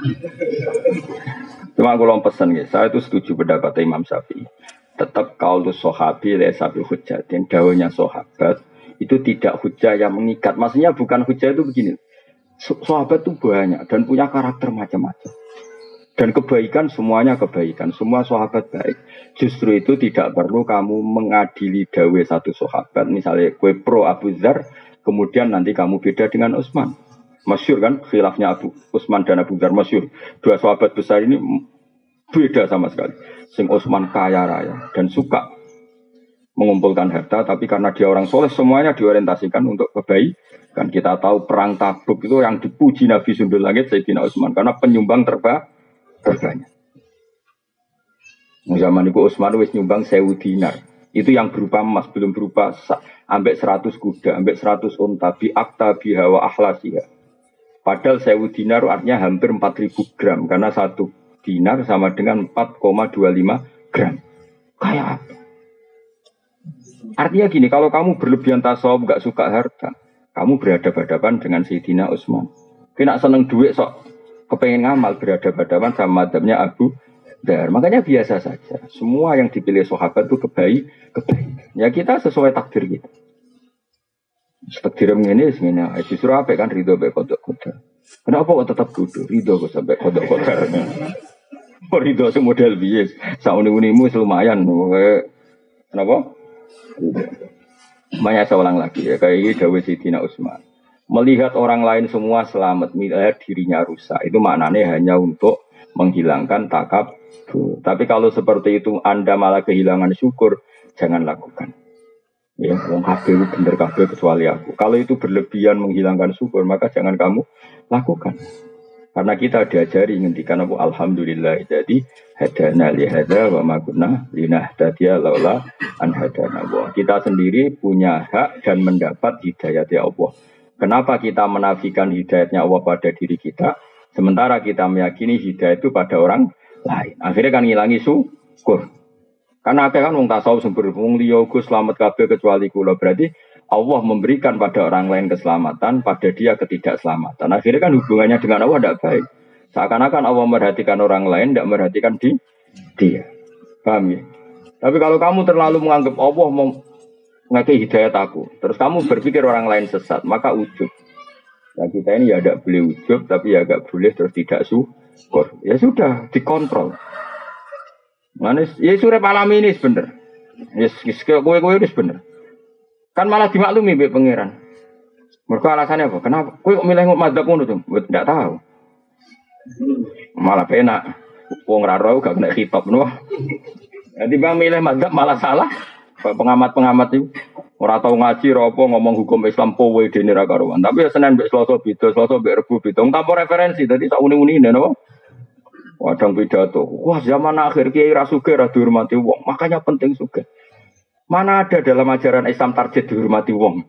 Cuma aku lom pesan ya, saya itu setuju pendapat Imam Syafi'i. Tetap kaulu sahabi le sabi hujjatin, dawuhnya sahabat itu tidak hujjah yang mengikat. Maksudnya bukan hujjah itu begini. Sahabat itu banyak dan punya karakter macam-macam. Dan kebaikan semuanya kebaikan, semua sahabat baik. Justru itu tidak perlu kamu mengadili dawe satu sahabat. Misalnya kue pro Abu Dzar, kemudian nanti kamu beda dengan Utsman. Masyhur kan khilafnya Abu Utsman dan Abu Dzar masyhur. Dua sahabat besar ini beda sama sekali. Sing Utsman kaya raya dan suka mengumpulkan harta, tapi karena dia orang soleh semuanya diorientasikan untuk kebaikan. Kita tahu perang Tabuk itu yang dipuji Nabi Sundul Langit Sayyidina Utsman karena penyumbang terbaik. Terbanyak. Zaman itu Utsman wis nyumbang sewu dinar. Itu yang berupa emas, belum berupa ambek seratus kuda, ambek seratus unta, bi akta biha wa ahlasiha. Padahal sewu dinar artinya hampir empat ribu gram karena satu dinar sama dengan empat koma dua lima gram. Kayak apa? Artinya gini, kalau kamu berlebihan tasawuf, gak suka harta, kamu berhadapan-hadapan dengan Sayyidina Utsman. Kena seneng duit sok kepengen ngamal berhadapan-hadapan sama madhabnya Abu Dzar. Makanya biasa saja. Semua yang dipilih sahabat itu kebaik, kebaik. Ya kita sesuai takdir kita. Takdir ini sebenarnya justru apa kan ridho be kodok kodok. Kenapa kok tetap kudu ridho kok sampai kodok kodok? Oh ridho semodel bias. Sauni-unimu lumayan. Kenapa? Banyak saya ulang lagi ya. Kayak ini Dawud Sayyidina Utsman. Melihat orang lain semua selamat, melihat dirinya rusak. Itu maknanya hanya untuk menghilangkan takab. Tapi kalau seperti itu Anda malah kehilangan syukur, jangan lakukan. Ya, wong kabeh bener kabeh kecuali aku. Kalau itu berlebihan menghilangkan syukur, maka jangan kamu lakukan. Karena kita diajari ngendikan apa alhamdulillah. Jadi hadana li hadza wa ma kunna linahtadiya laula an hadana Allah. Kita sendiri punya hak dan mendapat hidayah dari Allah. Kenapa kita menafikan hidayatnya Allah pada diri kita, sementara kita meyakini hidayah itu pada orang lain. Akhirnya kan ngilangi syukur. Karena akhirnya kan wong tasawuf sumber wong liya Gus selamat kabeh kecuali kula. Berarti Allah memberikan pada orang lain keselamatan, pada dia ketidakselamatan. Akhirnya kan hubungannya dengan Allah tidak baik. Seakan-akan Allah merhatikan orang lain, tidak merhatikan di, dia. Paham ya? Tapi kalau kamu terlalu menganggap Allah mau ngasih hidayat aku, terus kamu berpikir orang lain sesat, maka ujub. Nah kita ini ya tidak boleh ujub, tapi ya agak boleh terus tidak syukur. Ya sudah, dikontrol. Manis, ya surep alami ini bener. Ya kue-kue ini bener. Kan malah dimaklumi be pangeran. Mereka alasannya apa? Kenapa? Kue kok milih madzhab ngono tuh? Tidak tahu. Malah penak. Wong raro gak kena khitab nopo. Nanti bang milih madzhab malah salah. Pengamat-pengamat itu ora tau ngaji ropo ngomong hukum Islam kowe dene ra karuan. Tapi ya Senin mbek Selasa beda, Selasa mbek Rebo beda. Tanpa referensi dadi sak uni-unine napa? Wadang pidato. Wah, zaman akhir kiai ra sugih ra dihormati wong. Makanya penting sugih. Mana ada dalam ajaran Islam target dihormati wong?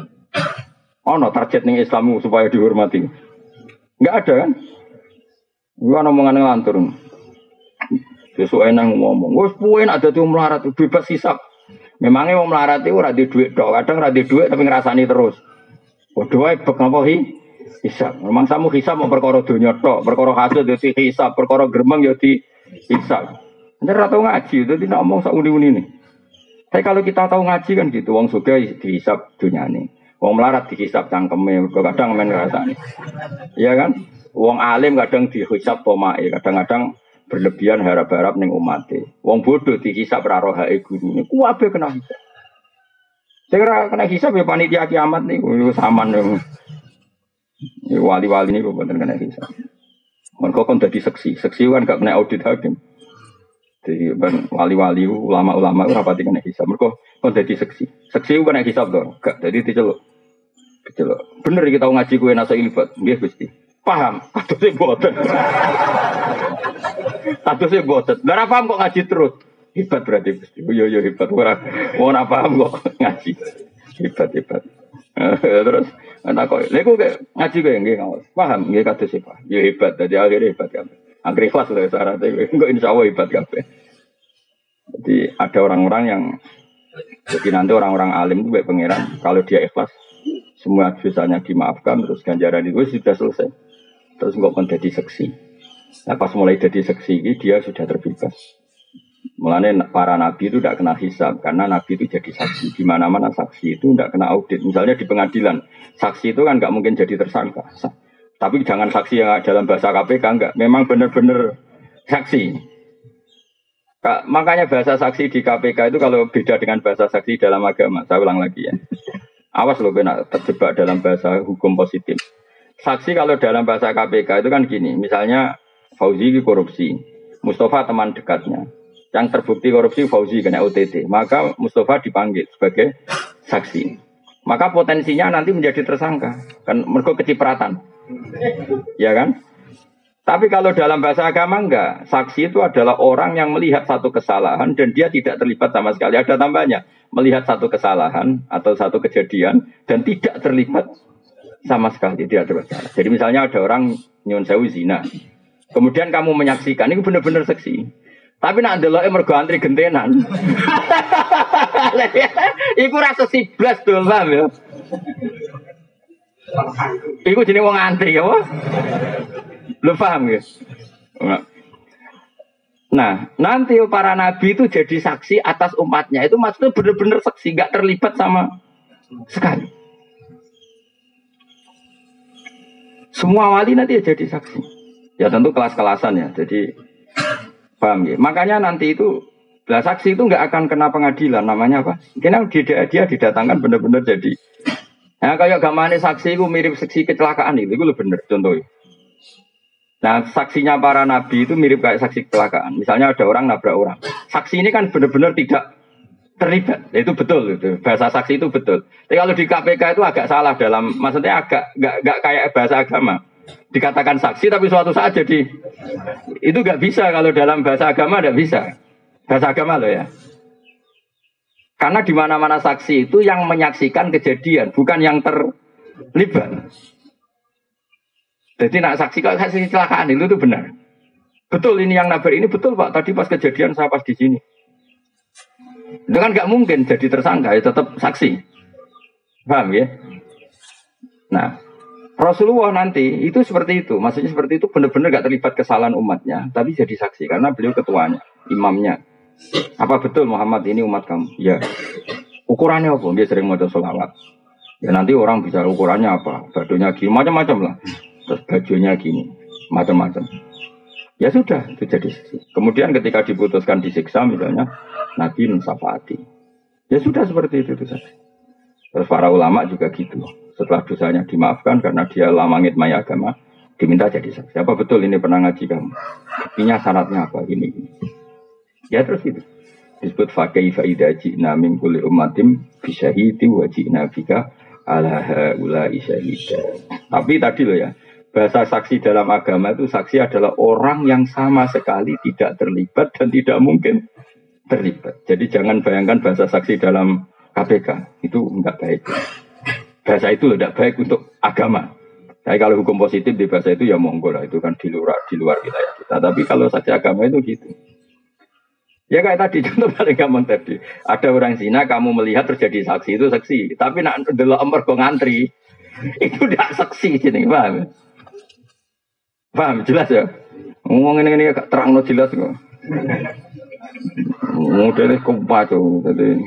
Ono target ning Islammu supaya dihormati. Enggak ada kan? Gua omongan ngelantur. Besok enang ngomong, wes puin ada tuh melarat bebas hisap. Memangnya mau melarat itu ora di duit dong, kadang ora di duit tapi ngerasani terus. Waduh, wae bek ngapa hi? Hisap. Memang samu hisap mau perkara dunya tok, perkara hasil yo di hisap, perkara gremeng yo di hisap. Nek ora tau ngaji, dadi nek omong sak uni-uni nih. Tapi kalau kita tahu ngaji kan gitu, wong sugih dihisap dunyane. Wong melarat dihisap cangkeme, kadang men ngrasani. Iya kan? Wong alim kadang dihisap pomae, kadang-kadang berlebihan harap-harap ning umate. Wong bodoh dihisap ra rohae gurune. Kuwabe kena hisap. Sing ora kena hisap ya panitia kiamat niku saman yo. Wali-wali niku boten kena hisap. Mergo kon dadi seksi. Seksi kan gak kena audit hakim. Jadi ben wali-wali ulama-ulama ora pati kena hisap. Mergo kon dadi seksi. Seksi ku kena hisap to. Gak dadi diceluk. Diceluk. Bener iki tau ngaji kowe nasa ilfat. Nggih Gusti. Paham? Katose boten. Katose boten. Ora paham kok ngaji terus. Hebat berarti Gusti. Yo yo hebat ora. Ora paham kok ngaji. Hebat hebat. Terus ana kok lha kok ngaji kowe nggih ngawas. Paham nggih katose paham. Yo hebat dadi akhire hebat kabeh. Angger ikhlas lho syaratnya. Engko insyaallah hebat kabeh. Jadi ada orang-orang yang jadi nanti orang-orang alim itu baik pangeran kalau dia ikhlas semua dosanya dimaafkan terus ganjaran itu sudah selesai. Terus nggak akan jadi seksi. Nah pas mulai jadi seksi ini dia sudah terbebas. Mulanya para nabi itu tidak kena hisab karena nabi itu jadi saksi. Di mana-mana saksi itu tidak kena audit. Misalnya di pengadilan saksi itu kan nggak mungkin jadi tersangka. Tapi jangan saksi yang dalam bahasa K P K enggak. Memang benar-benar saksi. Kak, makanya bahasa saksi di K P K itu kalau beda dengan bahasa saksi dalam agama. Saya ulang lagi ya. Awas loh kena terjebak dalam bahasa hukum positif. Saksi kalau dalam bahasa K P K itu kan gini. Misalnya Fauzi korupsi. Mustafa teman dekatnya. Yang terbukti korupsi Fauzi kena O T T. Maka Mustafa dipanggil sebagai saksi. Maka potensinya nanti menjadi tersangka. Kan mergo kecipratan. Ya kan? Tapi kalau dalam bahasa agama enggak. Saksi itu adalah orang yang melihat satu kesalahan dan dia tidak terlibat sama sekali. Ada tambahnya. Melihat satu kesalahan atau satu kejadian dan tidak terlibat sama sekali. Tidak terlibat. Jadi misalnya ada orang nyun sewu zina. Kemudian kamu menyaksikan. Ini benar-benar saksi. Tapi nak ndelok mergo antri gentenan. Iku rasa siblas dol paham ya. Iku jenenge wong antri ya, Pak. Lu paham ya? Nah, nanti para nabi itu jadi saksi atas umatnya. Itu maksudnya benar-benar saksi, enggak terlibat sama sekali. Semua wali nanti jadi saksi. Ya tentu kelas-kelasan ya. Jadi paham ya? Makanya nanti itu lah saksi itu nggak akan kena pengadilan. Namanya apa? Karena dia, dia didatangkan benar-benar jadi. Nah kayak gamane saksi itu mirip saksi kecelakaan itu, itu lebih benar contohnya. Nah saksinya para nabi itu mirip kayak saksi kecelakaan. Misalnya ada orang nabrak orang. Saksi ini kan benar-benar tidak terlibat. Ya, itu betul itu. Bahasa saksi itu betul. Tapi kalau di K P K itu agak salah dalam, maksudnya agak nggak nggak kayak bahasa agama. Dikatakan saksi tapi suatu saat jadi itu nggak bisa kalau dalam bahasa agama nggak bisa. Bahasa agama loh ya. Karena di mana-mana saksi itu yang menyaksikan kejadian, bukan yang terlibat. Jadi nak saksi kalau saksi kecelakaan itu itu benar. Betul ini yang nabrak ini betul Pak. Tadi pas kejadian saya pas di sini. Itu kan nggak mungkin jadi tersangka, ya tetap saksi. Paham ya? Nah, Rasulullah nanti itu seperti itu. Maksudnya seperti itu benar-benar nggak terlibat kesalahan umatnya, tapi jadi saksi karena beliau ketuanya, imamnya. Apa betul Muhammad ini umat kamu? Ya. Ukurannya apa? Dia sering mau sholawat. Ya nanti orang bicara ukurannya apa? Bajunya gini, macam-macam lah. Terus bajunya gini, macam-macam. Ya sudah, itu jadi saksi. Kemudian ketika diputuskan disiksa misalnya, Nabi mensyafaati. Ya sudah seperti itu, itu saja. Terus para ulama juga gitu. Setelah dosanya dimaafkan karena dia lama ngitmai agama, diminta jadi saksi. Apa betul ini pernah ngaji kamu? Buktinya syaratnya apa? Gini, gini. Ya terus itu disebut fakih faida jina min kulli ummatin bisyahidi wa jina bika ala haula'i syahida. Tapi tadi loh ya, bahasa saksi dalam agama itu saksi adalah orang yang sama sekali tidak terlibat dan tidak mungkin terlibat. Jadi jangan bayangkan bahasa saksi dalam K P K itu enggak baik. Bahasa itu tidak baik untuk agama. Tapi kalau hukum positif di bahasa itu ya monggo lah, itu kan di luar di luar wilayah kita. Tapi kalau saja agama itu gitu. Ya kayak tadi contoh paling gampang tadi. Ada orang zina kamu melihat terjadi saksi itu saksi. Tapi nak delok ember go ngantri itu tidak saksi sini, paham? Paham jelas ya? Ngomong ini ini terang no jelas kok. Modelnya kumpul jadi.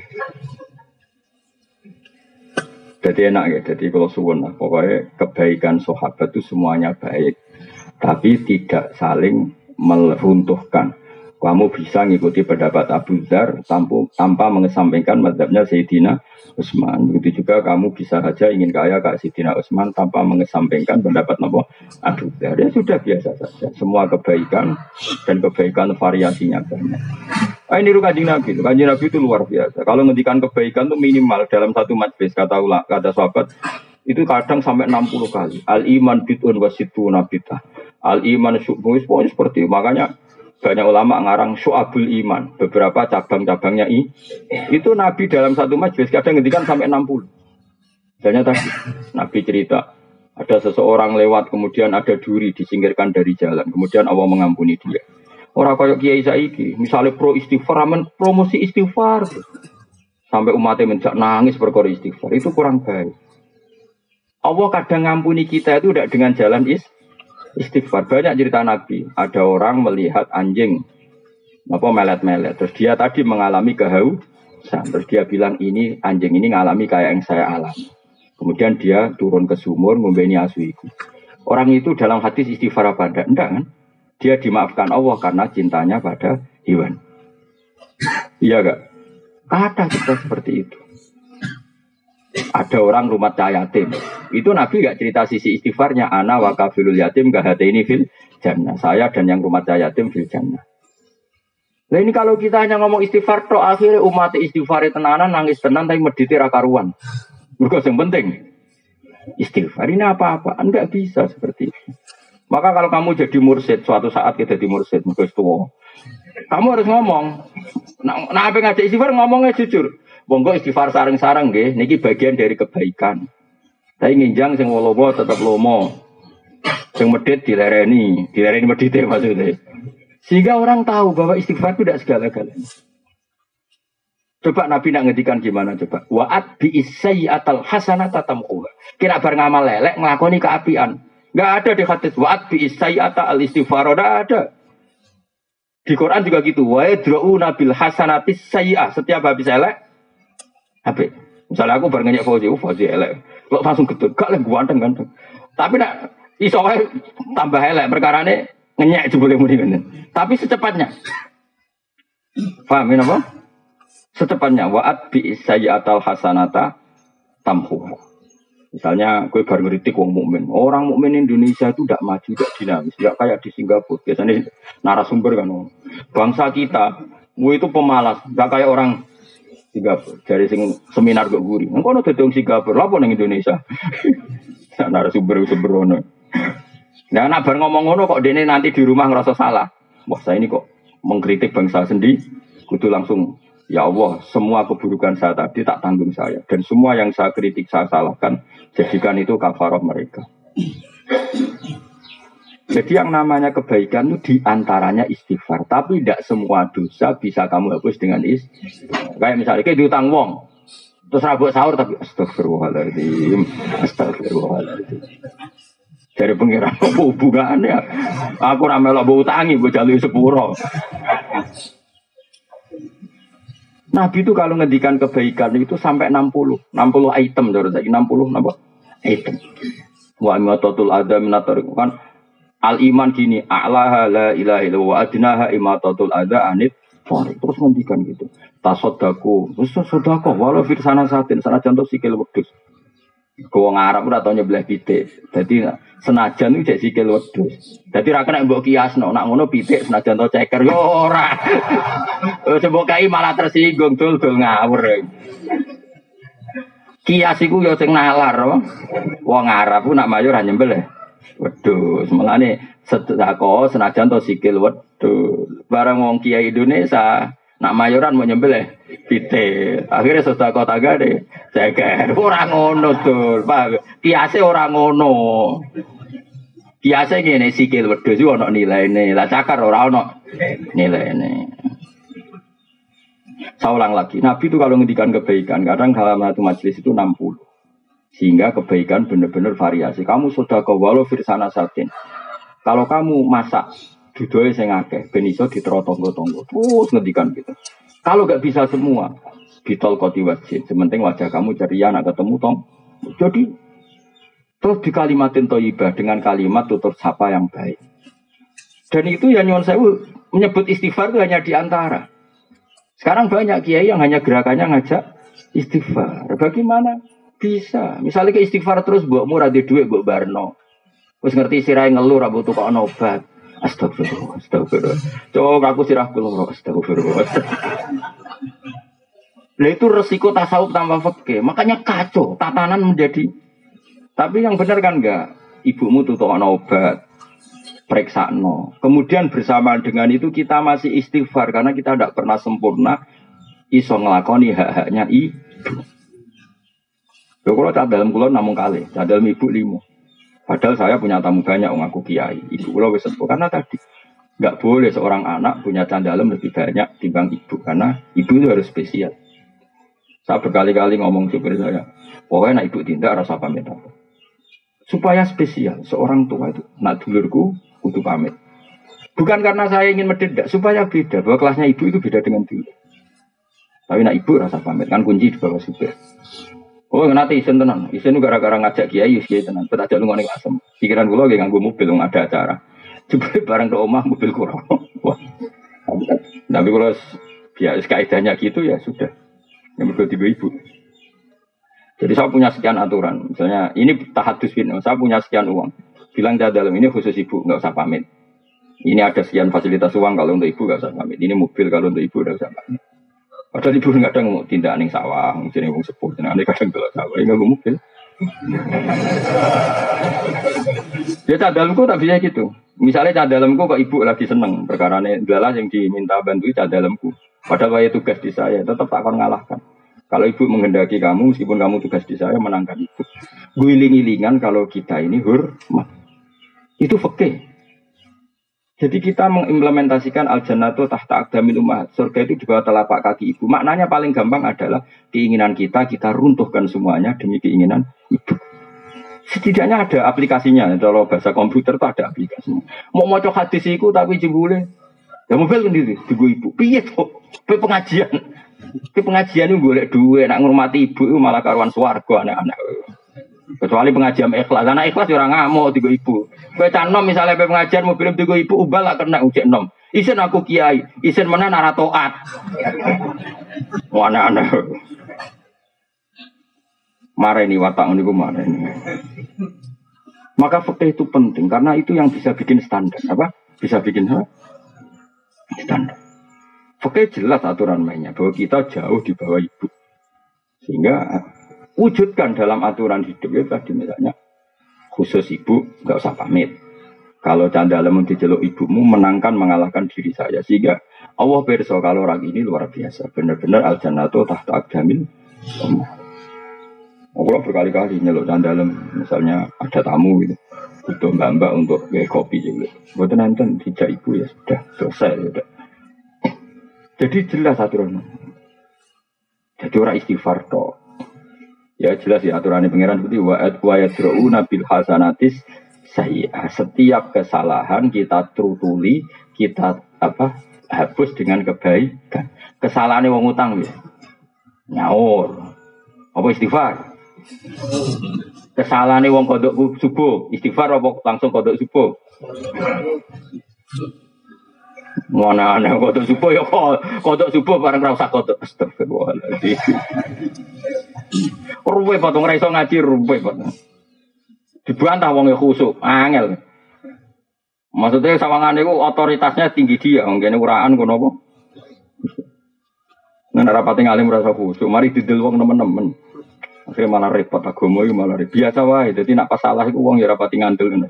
Jadi enak ya, jadi kalau suwun lah, pokoknya kebaikan sahabat itu semuanya baik, tapi tidak saling meruntuhkan. Kamu bisa ngikuti pendapat Abu Dzar tanpa, tanpa mengesampingkan mazhabnya Sayyidina Utsman. Begitu juga kamu bisa saja ingin kaya kayak Sayyidina Utsman tanpa mengesampingkan pendapat Abu Dzar. Ya sudah biasa saja. Semua kebaikan dan kebaikan variasinya banyak. Ah, ini Kanjeng Nabi, Kanjeng Nabi itu luar biasa. Kalau ngendikan kebaikan itu minimal dalam satu majlis kata ulah, kata sahabat itu kadang sampai enam puluh kali. Al iman bid'un wasituna bid'ah. Al iman syu'bun seperti itu. Makanya banyak ulama ngarang syu'abul iman, beberapa cabang-cabangnya i. Itu Nabi dalam satu majlis kadang ngendikan sampai enam puluh. Misalnya tadi Nabi cerita ada seseorang lewat kemudian ada duri disingkirkan dari jalan, kemudian Allah mengampuni dia. Orang kayak kiai saiki, misalnya pro istighfar, aman promosi istighfar, sampai umatnya menjak nangis perkara istighfar, itu kurang baik. Allah kadang ngampuni kita itu tidak dengan jalan is, istighfar. Banyak cerita Nabi, ada orang melihat anjing, apa melet-melet, terus dia tadi mengalami kehausan, terus dia bilang ini anjing ini ngalami kayak yang saya alami. Kemudian dia turun ke sumur, membeni asu itu. Orang itu dalam hadis istighfar apa enggak? Enggak kan? Dia dimaafkan Allah karena cintanya pada hewan. Iya gak? Ada kita seperti itu. Ada orang rumah yatim. Itu Nabi gak cerita sisi istighfarnya. Ana wa kafilul yatim kahataini fil jannah. Saya dan yang rumah yatim fil jannah. Nah ini kalau kita hanya ngomong istighfar, toh akhirnya umat istighfar tenanan nangis tenan tapi mediti ra karuan. Mergo yang penting istighfar ini apa-apa. Enggak bisa seperti itu. Maka kalau kamu jadi mursyid, suatu saat kita jadi mursyid, mungkin tua, kamu harus ngomong. Nah, nah apa ngajak istighfar ngomongnya jujur. Monggo istighfar sareng-sareng nggih, niki bagian dari kebaikan. Tapi nginjang sing lomo tetap lomo. Sing medit dilereni, dilereni medite maksudnya. Sehingga orang tahu bahwa istighfar itu tidak segala-galanya. Coba Nabi nak ngedikan gimana coba? Wa'at bi isayyatal hasanata tamquha. Kira bar ngamal lelek nglakoni keapian. Enggak ada di hadis wa'at bi isyaata al istighfar, enggak ada. Di Quran juga gitu. Wa yadra'una bil hasanati sayyi'ah. Setiap habis elek habis. Misalnya aku bar ngenyek Fauzi, oh Fauzi elek. Kok langsung gedhe, gak lek ganteng-ganteng. Tapi nak iso wae tambah elek perkarane ngenyek jebule muni ngene. Tapi secepatnya. Paham apa? Secepatnya wa'at bi isyaata al hasanata tamhuha. Misalnya, gue baru ngeritik wong mukmin. Orang mukmin Indonesia itu tidak maju, tidak dinamis, tidak kayak di Singapura. Biasanya narasumber kan, bangsa kita, gue itu pemalas, tidak kayak orang Singapura. Dari sing seminar gue guri, engkau nanti dong Singapura, lapor neng Indonesia. Narasumber sembrono. Nah, nak bar ngomong-ngomong kok dene nanti di rumah ngerasa salah. Wah, saya ini kok mengkritik bangsa sendiri, kudu langsung. Ya Allah, semua keburukan saya tadi tak tanggung saya. Dan semua yang saya kritik, saya salahkan. Jadikan itu kafarah mereka. Jadi yang namanya kebaikan itu diantaranya istighfar. Tapi tidak semua dosa bisa kamu hapus dengan istighfar. Kayak misalnya, kayak diutang wong. Terus rabuk sahur, tapi astagfirullahaladzim. Astagfirullahaladzim. Dari pengiran, apa hubungannya? Aku ramelok utangi, gue jalui sepuro. Nabi itu kalau ngedikan kebaikan itu sampai enam puluh, enam puluh item, enam puluh apa? Item. Wa imatatul adza minatar kan al iman gini, a'laha la ilaha illallah wa adnaha imatatul adza anit fari. Terus ngendikan gitu. Tasaddaku, terus sedekah walau fir sana satin, sana contoh sikil wedhus. Wong Arab ora tau nyebleh pitik. Dadi senajan iki jek sikil wedhus. Dadi ra kena mbok kiasno, nak ngono pitik senajan to ceker yo ora. Eh mbok kai malah tersinggung dul-dul ngawur. Kias iku yo sing nalar, wong Arab ku nak mayor ra nyembelih wedhus. Mulane sedekah senajan to sikil wedhus. Barang wong kiai Indonesia Nak mayoran mau nyembelih pitik. Akhirnya sedekah tangga deh. Ceker ora ngono tuh. Pak, kiase ora ngono. Kiase ngene sikil wedhus iku ana nilaine. Lah cakar ora ana nilaine. Saya ulang lagi, Nabi itu kalau ngendikan kebaikan, kadang dalam satu majelis itu enam puluh. Sehingga kebaikan benar-benar variasi. Kamu sudah ke walau firsana satin. Kalau kamu masak dudoe sing akeh ben iso diterotonggo-tonggo. Terus ngendikan gitu. Kalau gak bisa semua, bitol koti wajib. Sementing wajah kamu ceria nak ketemu tong. Jadi terus di kalimatin thayyibah dengan kalimat tutur sapa yang baik. Dan itu ya nyuwun sewu menyebut istighfar itu hanya di antara. Sekarang banyak kiai yang hanya gerakannya ngajak istighfar. Bagaimana bisa? Misalnya ke istighfar terus mbokmu ra duwe dhuwit mbok barno. Wis ngerti sirahe ngeluh ra butuh kok obat. Astagfirullah, astagfirullah. Coba aku sirah kula astagfirullah. Lah itu resiko tasawuf tanpa fikih. Makanya kacau, tatanan menjadi. Tapi yang benar kan enggak? Ibumu tuh tukokno obat. Periksakno. Kemudian bersamaan dengan itu kita masih istighfar karena kita tidak pernah sempurna iso ngelakoni hak-haknya ibu. Lho kalau cak dalam kula namung kalih, cak dalam ibu limo. Padahal saya punya tamu banyak wong aku kiai. Ibu kula wis sepuh karena tadi enggak boleh seorang anak punya candalem lebih banyak timbang ibu karena ibu itu harus spesial. Saya berkali-kali ngomong supir saya, pokoknya nak ibu tindak rasa pamit apa. Supaya spesial seorang tua itu nak dulurku kudu pamit. Bukan karena saya ingin mendedak, supaya beda. Bahwa kelasnya ibu itu beda dengan dulu. Tapi nak ibu rasa pamit, kan kunci di bawah supir. Oh, nanti isen tenan. Isen itu gara-gara ngajak kiai, kiai tenan. Kita ajak lu ngonek asem. Pikiran gue lagi nganggo mobil, nggak ada acara. Coba bareng ke omah, mobil kurang. Wah. Tapi kalau biasa kaidahnya gitu ya sudah. Yang berdua tiga ibu. Jadi saya punya sekian aturan. Misalnya ini tahadus bin, saya punya sekian uang. Bilang dia dalam ini khusus ibu, nggak usah pamit. Ini ada sekian fasilitas uang kalau untuk ibu nggak usah pamit. Ini mobil kalau untuk ibu nggak usah pamit. Padahal ibu kadang mau tindak ning sawah, jadi wong sepuh, jadi kadang belok sawah, nggak mau mobil. Ya cadalku tak bisa gitu. Misalnya cadalku kok ibu lagi seneng perkara ini, adalah yang diminta bantu cadalku. Padahal saya tugas di saya, tetap tak akan ngalahkan. Kalau ibu menghendaki kamu, meskipun kamu tugas di saya, menangkan ibu. Guling-gilingan kalau kita ini hormat. Itu fikih. Jadi kita mengimplementasikan al-jannatu tahta aqdamil ummahat. Surga itu di bawah telapak kaki ibu. Maknanya paling gampang adalah keinginan kita, kita runtuhkan semuanya demi keinginan ibu. Setidaknya ada aplikasinya. Kalau bahasa komputer itu ada aplikasinya. Mau maca hadis iku tapi jebule. Ya mobil sendiri, tunggu ibu. Piye to? Pe pengajian. Pe pengajian itu golek duit, nak ngurmati ibu itu malah karuan swarga anak-anak. Kecuali pengajian ikhlas, anak ikhlas orang ngamuk tiga ibu. Kowe canom misalnya pe pengajian mobil tiga ibu ubal lah kena ujek nom. Isen aku kiai, isen mana nara toat. Mana anak. Marah ini watak niku marah ini. Maka fikih itu penting karena itu yang bisa bikin standar apa? Bisa bikin apa? Standar. Fikih jelas aturan mainnya bahwa kita jauh di bawah ibu. Sehingga wujudkan dalam aturan hidup ya tadi misalnya khusus ibu nggak usah pamit. Kalau candalem diceluk ibumu menangkan mengalahkan diri saya sehingga Allah perso kalau orang ini luar biasa benar-benar al jannatu tahta aqdamil ummahat. Allah berkali-kali nyeluk candalem misalnya ada tamu gitu butuh mbak-mbak untuk kayak kopi juga. Buat nonton dijak ibu ya sudah selesai sudah. Jadi jelas aturan. Jadi orang istighfar toh. Ya jelas ya aturannya pengiran seperti wa'ad wa yadru'una bil hasanatis sayyi'ah. Setiap kesalahan kita terutuli, kita apa hapus dengan kebaikan. Kesalahannya wong utang ya. Nyaur. Apa istighfar? Kesalahannya wong kodok subuh, istighfar apa langsung kodok subuh? Mana ana kodok subuh ya kodok subuh bareng ra usah kodok. Astagfirullahaladzim. Ruwe potong ra iso ngaji ruwe potong. Dibantah wong e khusuk, angel. Maksudnya sawangane iku otoritasnya tinggi dia, ngene uraan kono apa? Nek rapati ngalim rasa khusuk, mari didel wong nemen-nemen. Akhirnya malah repot agama itu malah repot. Biasa wae, jadi nak pasalah itu wong ya rapati ngandel ngono.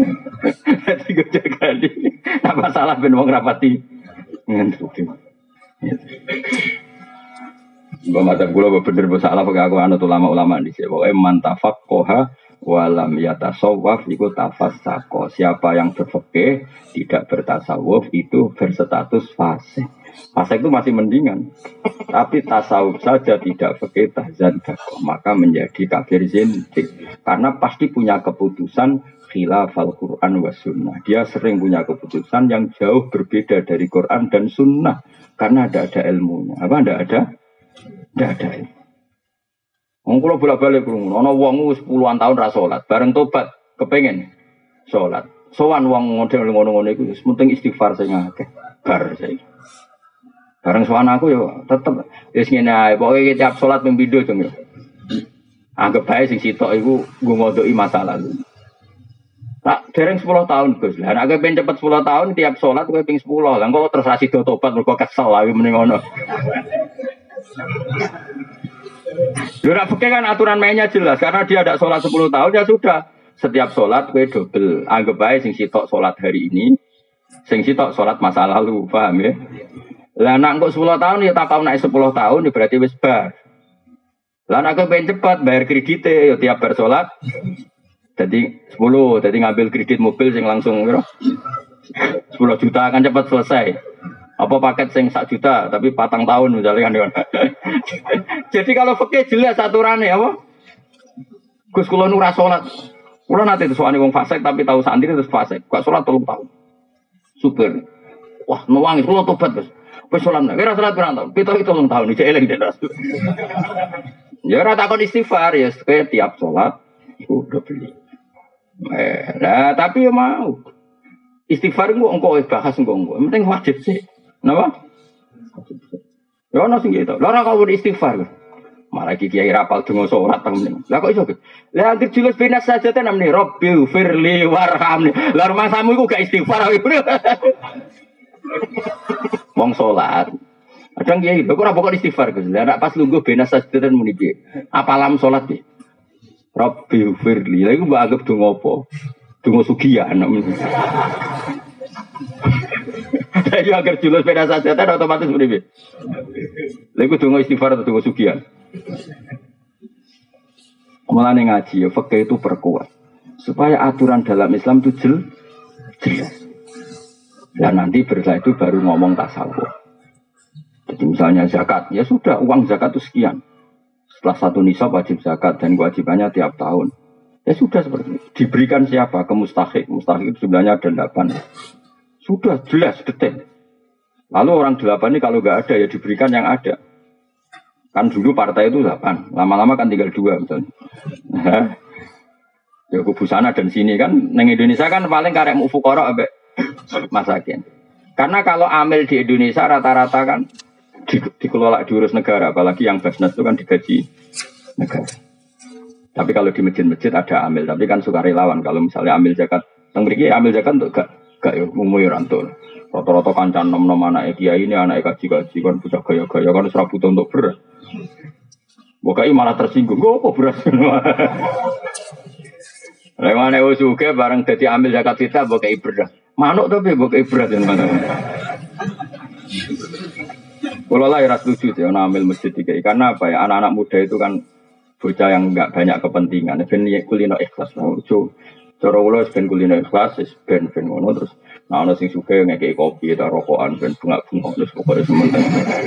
Dadi gue jaga di nak pasalah ben wong rapati ngandel. Mbak Madzhab kula bener salah pakai aku anut ulama-ulama di sini. Pokoke man tafaqqaha walam yatasawwaf iku tafassaqo. Siapa yang berfikih tidak bertasawuf itu berstatus fasik. Fasik itu masih mendingan. Tapi tasawuf saja tidak fikih tahzandak, maka menjadi kafir zindik. Karena pasti punya keputusan khilafal Quran wa sunnah. Dia sering punya keputusan yang jauh berbeda dari Quran dan sunnah. Karena ada ada ilmunya. Apa ada ada? Tidak ada ilmu. Wong kula bolak-balik krungu, ana wong wis puluhan tahun ra salat, bareng tobat kepengin salat. Sowan wong model ngono-ngono iku wis penting istighfar sing akeh. Bar saiki. Bareng sowan aku ya tetep wis ngene ae, pokoke tiap salat ping pindho jeng yo. Anggap bae sing sitok iku nggo ngodoki masa lalu. Tak dereng sepuluh tahun Gus. Lah nek pengen cepet sepuluh tahun tiap salat kowe ping sepuluh. Lah kok terus asido tobat mergo kesel ae mending ngono. Lha fikih kan aturan mainnya jelas karena dia ada sholat sepuluh tahun ya sudah. Setiap sholat kue double. Anggap baik sing sitok sholat hari ini, sing sitok sholat masa lalu, paham ya? Lah nak kok sepuluh tahun ya tak tahu naik sepuluh tahun ya berarti wis bar. Lah nak pengen cepat bayar kredite ya tiap bar sholat. Jadi sepuluh, jadi ngambil kredit mobil sing langsung kira sepuluh juta kan cepat selesai. Apa paket sing sak juta tapi patang tahun misalnya kan. Jadi kalau fikih jelas aturannya apa? Gus kula nu ra salat. Kula nate sowane wong fasik tapi tahu santri terus fasik. Kok salat telung tahun. Super. Wah, nuwangis kula tobat, Gus. Wis salat nek ora salat pirang tahun? Pitu telung tahun iki eling den Rasul. Ya ora takon istighfar ya tiap salat iku udah beli. Eh, nah, tapi ya mau. Istighfar engko engko bahas engko engko. Penting wajib sih. Napa? Ya ono sing gitu. Lah ora kok istighfar. Malah iki kiai rapal donga salat temen. Lah kok iso? Lah anggere julus benas saja tenan namne Rabbil firli warhamni. Lah rumahmu iku gak istighfar. Wong salat. Kadang kiai lho kok ora pokok istighfar Gus. Lah nek pas lungguh benas saja tenan muni piye? Apalam salat piye? Rabbil firli. Lah iku mbok anggap donga apa? Donga sugihan. Jadi agar julus beda saja, otomatis beribu. Lalu dongo istighfar atau dongo sugihan. Mulane ngaji, ya fikih itu perkuat supaya aturan dalam Islam itu jel, jelas. Dan nanti setelah itu baru ngomong tasawuf. Jadi misalnya zakat, ya sudah uang zakat itu sekian. Setelah satu nisab wajib zakat dan kewajibannya tiap tahun. Ya sudah seperti itu. Diberikan siapa? Ke mustahik. Mustahik itu sebenarnya ada delapan. Sudah jelas, detail. Lalu orang delapan ini kalau nggak ada ya diberikan yang ada. Kan dulu partai itu delapan. Lama-lama kan tinggal dua misalnya. Ya kubu sana dan sini kan. Neng Indonesia kan paling karek mufukoro abek masakin. Karena kalau amil di Indonesia rata-rata kan di, dikelola diurus negara. Apalagi yang Basnas itu kan digaji negara. Tapi kalau di masjid-masjid ada amil. Tapi kan sukarelawan. Kalau misalnya amil zakat. Yang beriki amil zakat untuk gak. Gak ya, ngomong rantul. Rata-rata kancan nom-nom anak kiai ini anak kaji-kaji kan bocah gaya-gaya kan serap butuh untuk beras. Bokai malah tersinggung. Kok apa beras? Lewat ewo juga bareng jadi ambil zakat kita bokai beras. Manuk tapi bokai beras yang mana? Kalau lah ya setuju ya ambil masjid tiga. Karena apa ya anak-anak muda itu kan bocah yang enggak banyak kepentingan. Ben kulino ikhlas. Ojo. Cara ulo ben kulino ikhlas, ben ben ngono terus nah ana sing suka ngekeki kopi ta rokokan ben bunga-bunga terus pokoke sementara.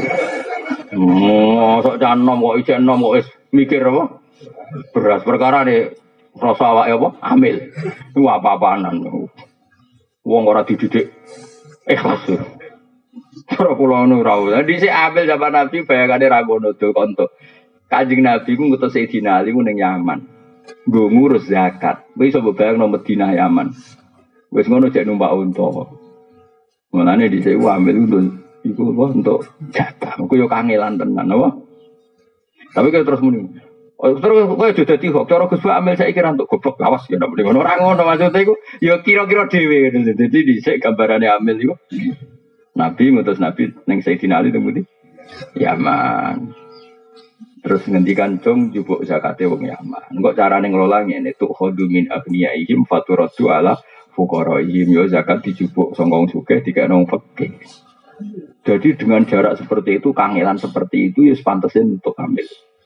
Oh, sok canom kok isih enom kok wis mikir apa? Beras perkara ne rasa awake apa? Amil. Ku apa-apanan. Wong ora dididik ikhlas. Cara kula ngono ra. Dadi sik amil zaman Nabi bayangane ra ngono do konto. Kanjeng Nabi ku ngutus Sayyidina Ali ku ning Yaman. Gue ngurus zakat, gue bisa bayang nomor Madinah Yaman. Gue ngono cek numpak unta. Mulane di sini ambil itu, itu apa untuk jatah. Gue yo kangelan tenan, apa? Tapi kalau terus muni, oh, terus gue sudah tihok. Cara gue ambil saya kira untuk goblok lawas ya, tidak boleh ngono. Orang ngono maksudnya gue, yo kira-kira dewi. Jadi di sini gambarannya ambil itu. Nabi ngutus Nabi neng Sayyidina Ali temu di Yaman. Terus ngendikan cung jupuk zakate wong Yaman. Engko carane ngelola ngene tuh khodu min agniyaihim faturatu ala fuqaraihim yo zakat dijupuk sangka wong sugih dikene wong fakir. Jadi dengan jarak seperti itu, kangelan seperti itu, ya pantesin untuk hamil.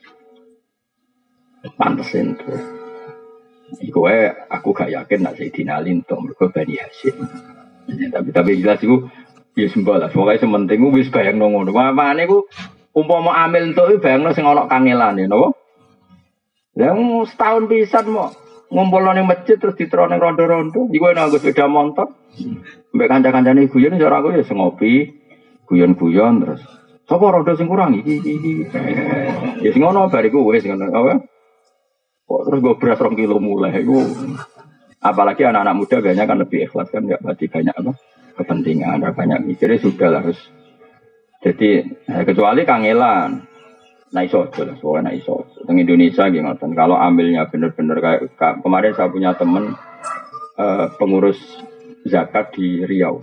Pantesin tuh. Iku aku gak yakin nak Sayyidina Ali untuk mergo Bani Hasyim. Tapi tapi jelas itu ya sembah lah. Pokoknya sementing ku wis bayangno ngono. Mamane ku umpama amil entuk bayangno sing ana kangelane napa? Lah setahun pisan mo ngumpulno ning masjid terus diterone rondo-rondo. Iku enak nggo sepeda motor. Mbek kanca-kancane guyon cara aku ya ngopi, guyon-guyon terus. Sapa rondo sing kurang iki iki. Ya sing ngono bariku wis ngono apa? Kok terus gue beras rong kilo mulai itu, apalagi anak-anak muda biasanya kan lebih ikhlas kan, nggak berarti banyak apa kepentingan, ada banyak mikirnya sudah lah harus. Jadi eh, kecuali kangelan, nah iso lah, soalnya nah iso. Teng Indonesia gimana? Kalau ambilnya bener-bener kayak kemarin saya punya temen eh, pengurus zakat di Riau.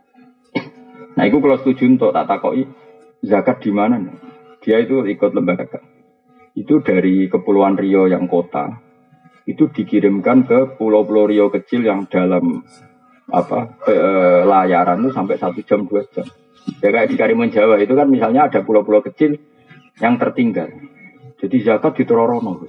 Nah itu kalau setuju untuk tak takoi zakat di mana? Dia itu ikut lembaga. Itu dari Kepulauan Riau yang kota itu dikirimkan ke pulau-pulau Riau kecil yang dalam apa e, layaran itu sampai satu jam dua jam. Ya kayak di Karimun Jawa itu kan misalnya ada pulau-pulau kecil yang tertinggal. Jadi zakat ditororono.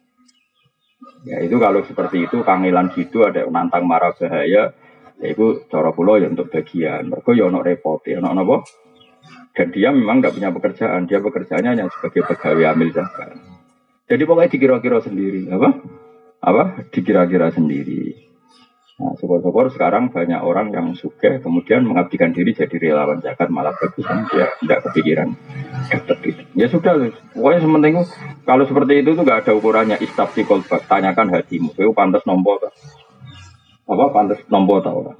Ya itu kalau seperti itu kangelan gitu ada nantang marah bahaya. Ya itu cara pulau ya untuk bagian. Mereka ya ono repot ya ono apa? Dan dia memang tidak punya pekerjaan, dia pekerjaannya hanya sebagai pegawai amil zakat. Jadi pokoknya dikira-kira sendiri, apa? Apa? Dikira-kira sendiri. Nah, syukur-syukur sekarang banyak orang yang suka kemudian mengabdikan diri jadi relawan zakat malah bagus kan dia tidak kepikiran dapat itu. Ya sudah, pokoknya sementing kalau seperti itu tuh nggak ada ukurannya istafsi kolbak, tanyakan hatimu, itu pantas nompo apa pantas nompo tau orang.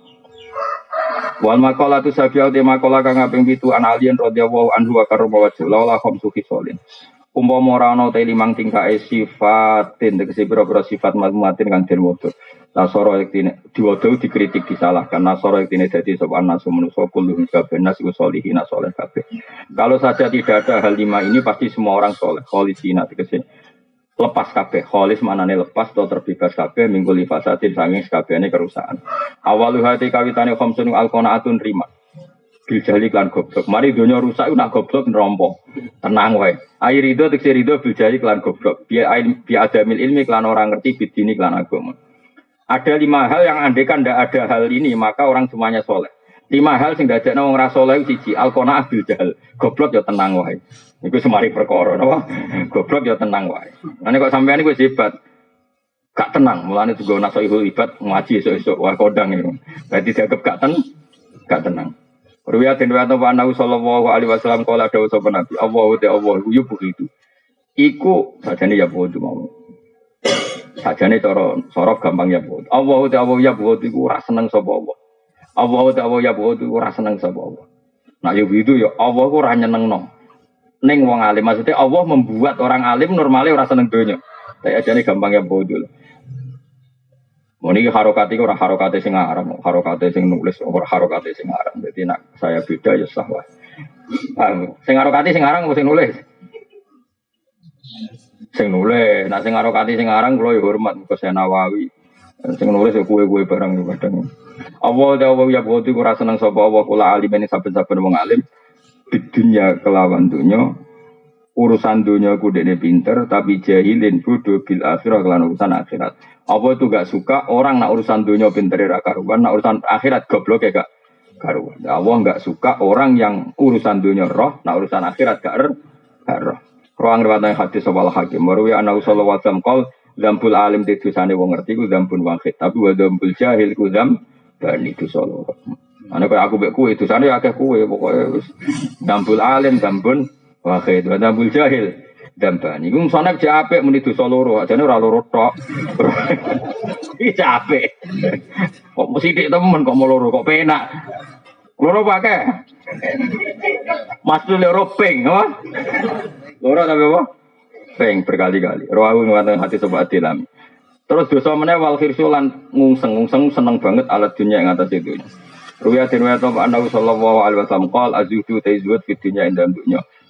Wal maqala tu sabiau te maqala kang kaping pitu an alien radhiyallahu anhu wa karrama wajhu la khamsu khisalin. Umpama ora ana te limang tingkake sifatin tegese pira-pira sifat mazmuatin kang den wudu. Nasara yektine diwudu dikritik disalahkan nasara yektine dadi sapa nasu manusa kullu kabeh nasu solihin saleh kabeh. Kalau saja tidak ada hal lima ini pasti semua orang saleh. Kholisina tegese lepas kabeh, kholis manane lepas atau terbebas kabeh minggu lifasatin sanging sakabehane kerusakan. Awalu hati kawitane khamsun alqanaatun rima. Bil jahli klan goblok. Mari donya rusak nak goblok nerompo. Tenang wae. Air rido tekse rido bil jahli klan goblok. Bi bi adamil ilmi klan orang ngerti bidini klan agama. Ada lima hal yang andekan ndak ada hal ini maka orang semuanya soleh. Lima hal sing dadekno wong ra saleh siji alqanaah bil jahl. Goblok ya tenang wae. Iku semari perkara napa? Goblok ya tenang wae. Nek kok sampean iku hebat. Gak tenang, mulane juga nasoihul ibad ngaji esuk-esuk wah kodang iku. Berarti dianggap gak ten gak tenang. Riwayat riwayat wa Nabi sallallahu alaihi wasallam qala dawuh sapa Nabi, Allahu ta Allah yu begitu. Iku sajane ya bodo mau. Sajane cara sorok gampang ya bodo. Allahu ta Allah ya bodo iku ora seneng sapa Allah. Allahu ta Allah ya bodo iku ora seneng sapa Allah. Nah ya begitu ya Allah ku ora nyenengno. Ning wong alim maksudnya Allah membuat orang alim normalnya ora seneng donya. Tapi ajane gampang ya bodo. Muni harokati ora harokate sing aran, harokate sing nulis ora harokate sing aran. Dadi nek saya beda ya sah wae. Ah, sing harokati sing aran sing nulis. Sing nulis, nek sing harokati sing aran kula ya hormat ke Nawawi. Sing nulis ya kuwe-kuwe barang kadang. Allah dawa ya boti ora seneng sapa Allah kula alim ini saben-saben wong alim. Di dunia kelawan dunya urusan dunia ku dekne pinter tapi jahilin bodoh bil akhirah kelan urusan akhirat. Apa itu gak suka orang nak urusan dunia pinter ra karuan, nak urusan akhirat goblok ya gak karuan. Allah gak suka orang yang urusan dunia roh, nak urusan akhirat gak er, gak roh. Ruang riwayat hadis sawal hakim marwi ana sallallahu alaihi wasallam qol dzambul alim dosane wong ngerti ku dzambun wahid tapi wa dzambul jahil ku dzam bani dosa loro. Ana kaya aku mek kowe dosane akeh kowe pokoke wis dzambul alim dzambun wahid wa dzambul jahil dambani. Iku musane jek apik muni dosa loro, ajane ora loro tok. Iki apik. Kok mesti dik temen kok mau loro kok penak. Loro pakai. Mas loro ping, apa? Loro tapi apa? Ping berkali-kali. Rawu ngwonten hati sebab dilami. Terus dosa meneh wal khirsulan ngungseng, ngungseng seneng banget alat dunia yang atas itu. Ruwiyah den wa ta Nabi sallallahu alaihi wasallam qol azudu taizuat fi dunya inda dunya.